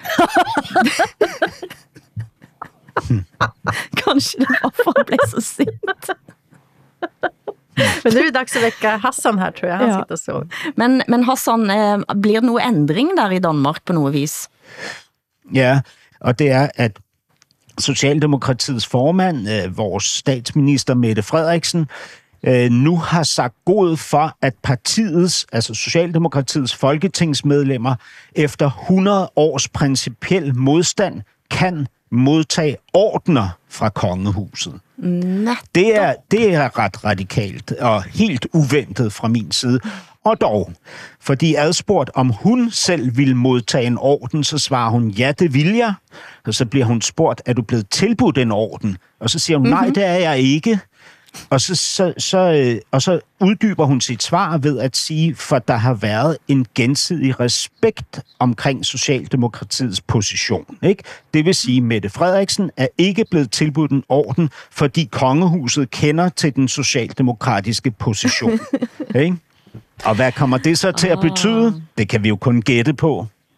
Kanske det var för att bli så sint. Men nu är det dags att väcka Hassan här, tror jag. Han ja. sitter så. Men, men Hassan, eh, blir det någon ändring där i Danmark på något vis? Ja, og det er, at Socialdemokratiets formand, øh, vores statsminister Mette Frederiksen, øh, nu har sagt god for, at partiets, altså Socialdemokratiets folketingsmedlemmer, efter hundrede års principiel modstand, kan modtage ordner fra kongehuset. Det er, det er ret radikalt og helt uventet fra min side. Og dog, fordi adspurgt, om hun selv vil modtage en orden, så svarer hun, ja, det vil jeg. Og så bliver hun spurgt, er du blevet tilbudt en orden? Og så siger hun, nej, det er jeg ikke. Og så, så, så, og så uddyber hun sit svar ved at sige, for der har været en gensidig respekt omkring Socialdemokratiets position. Ikke? Det vil sige, at Mette Frederiksen er ikke blevet tilbudt en orden, fordi kongehuset kender til den socialdemokratiske position. Ikke? Og hvad kommer det så til at betyde? Det kan vi jo kun gætte på.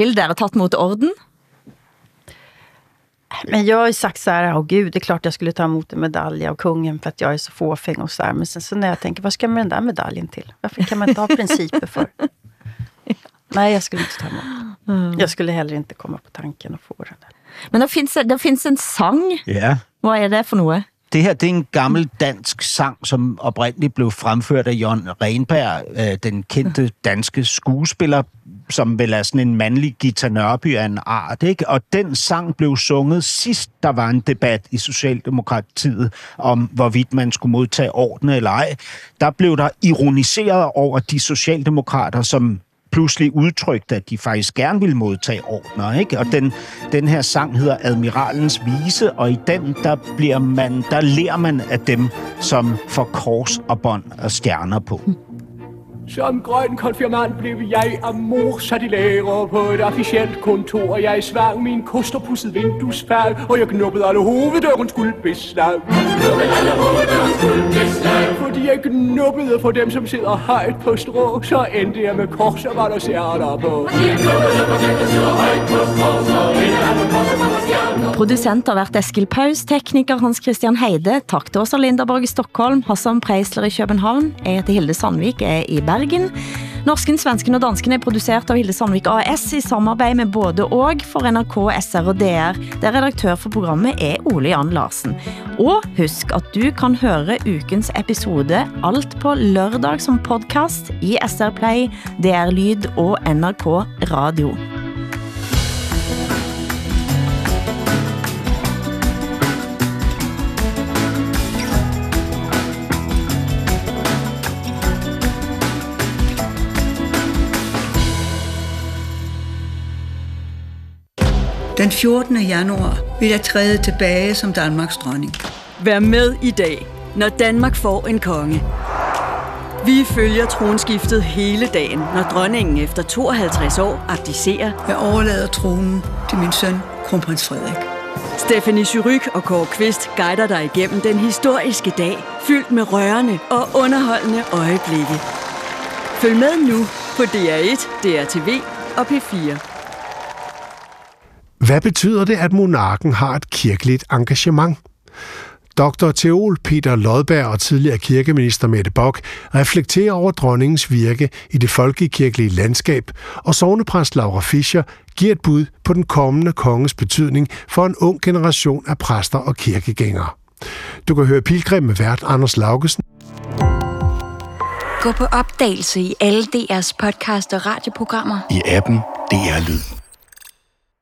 Vill dere tatt mot orden? Men jag har ju sagt så här, åh gud, det är klart jag skulle ta emot en medalj av kungen för att jag är så fåfäng och så här. Men sen så när jag tänker, vad ska man med den där medaljen till? Varför kan man inte ha principer för? Nej, jag skulle inte ta emot. Mm. Jag skulle heller inte komma på tanken att få den. Men der findes, der findes en sang. Ja. Hvad er det for noget? Det her, det er en gammel dansk sang, som oprindeligt blev fremført af Jørgen Renberg, øh, den kendte danske skuespiller, som vel er sådan en mandlig Gita Nørby af en art, ikke? Og den sang blev sunget sidst, der var en debat i Socialdemokratiet om, hvorvidt man skulle modtage ordene eller ej. Der blev der ironiseret over de socialdemokrater, som pludselig udtrykte, at de faktisk gerne ville modtage ordner, ikke? Og den, den her sang hedder Admiralens Vise, og i den, der, bliver man, der lærer man af dem, som får kors og bånd og stjerner på. Som grøn konfirmand blev jeg af mor sat i lære på et officielt kontor. Jeg svang min kosterpudset vinduesfærd, og jeg knuppede alle hoveddørens guldbeslag. Fordi jeg knuppede for dem, som sidder højt på strå, så endte jeg med kors og var der stjerner på. Producent har været Eskil Paus, tekniker Hans Christian Heide, tak til Åsa Linderborg i Stockholm, Hassan Preisler i København, jeg heter Hilde Sandvik, er i Bergen. Norsken, svensken og dansken er produceret av Hilde Sandvik A S i samarbeid med både og for N R K, S R og D R, der redaktør for programmet er Ole Jan Larsen. Og husk at du kan høre ukens episode alt på lørdag som podcast i S R Play, D R Lyd og N R K Radio. Den fjortende januar vil jeg træde tilbage som Danmarks dronning. Vær med i dag, når Danmark får en konge. Vi følger tronskiftet hele dagen, når dronningen efter tooghalvtreds år abdicerer. Jeg overlader tronen til min søn, kronprins Frederik. Stephanie Surrugue og Kåre Kvist guider dig igennem den historiske dag, fyldt med rørende og underholdende øjeblikke. Følg med nu på D R et, D R T V og P fire. Hvad betyder det, at monarken har et kirkeligt engagement? doktor teol Peter Lodberg og tidligere kirkeminister Mette Bock reflekterer over dronningens virke i det folkekirkelige landskab, og sognepræst Laura Fischer giver et bud på den kommende konges betydning for en ung generation af præster og kirkegængere. Du kan høre Pilgrim med vært Anders Laugesen. Gå på opdagelse i alle D R's podcast og radioprogrammer. I appen D R Lyd.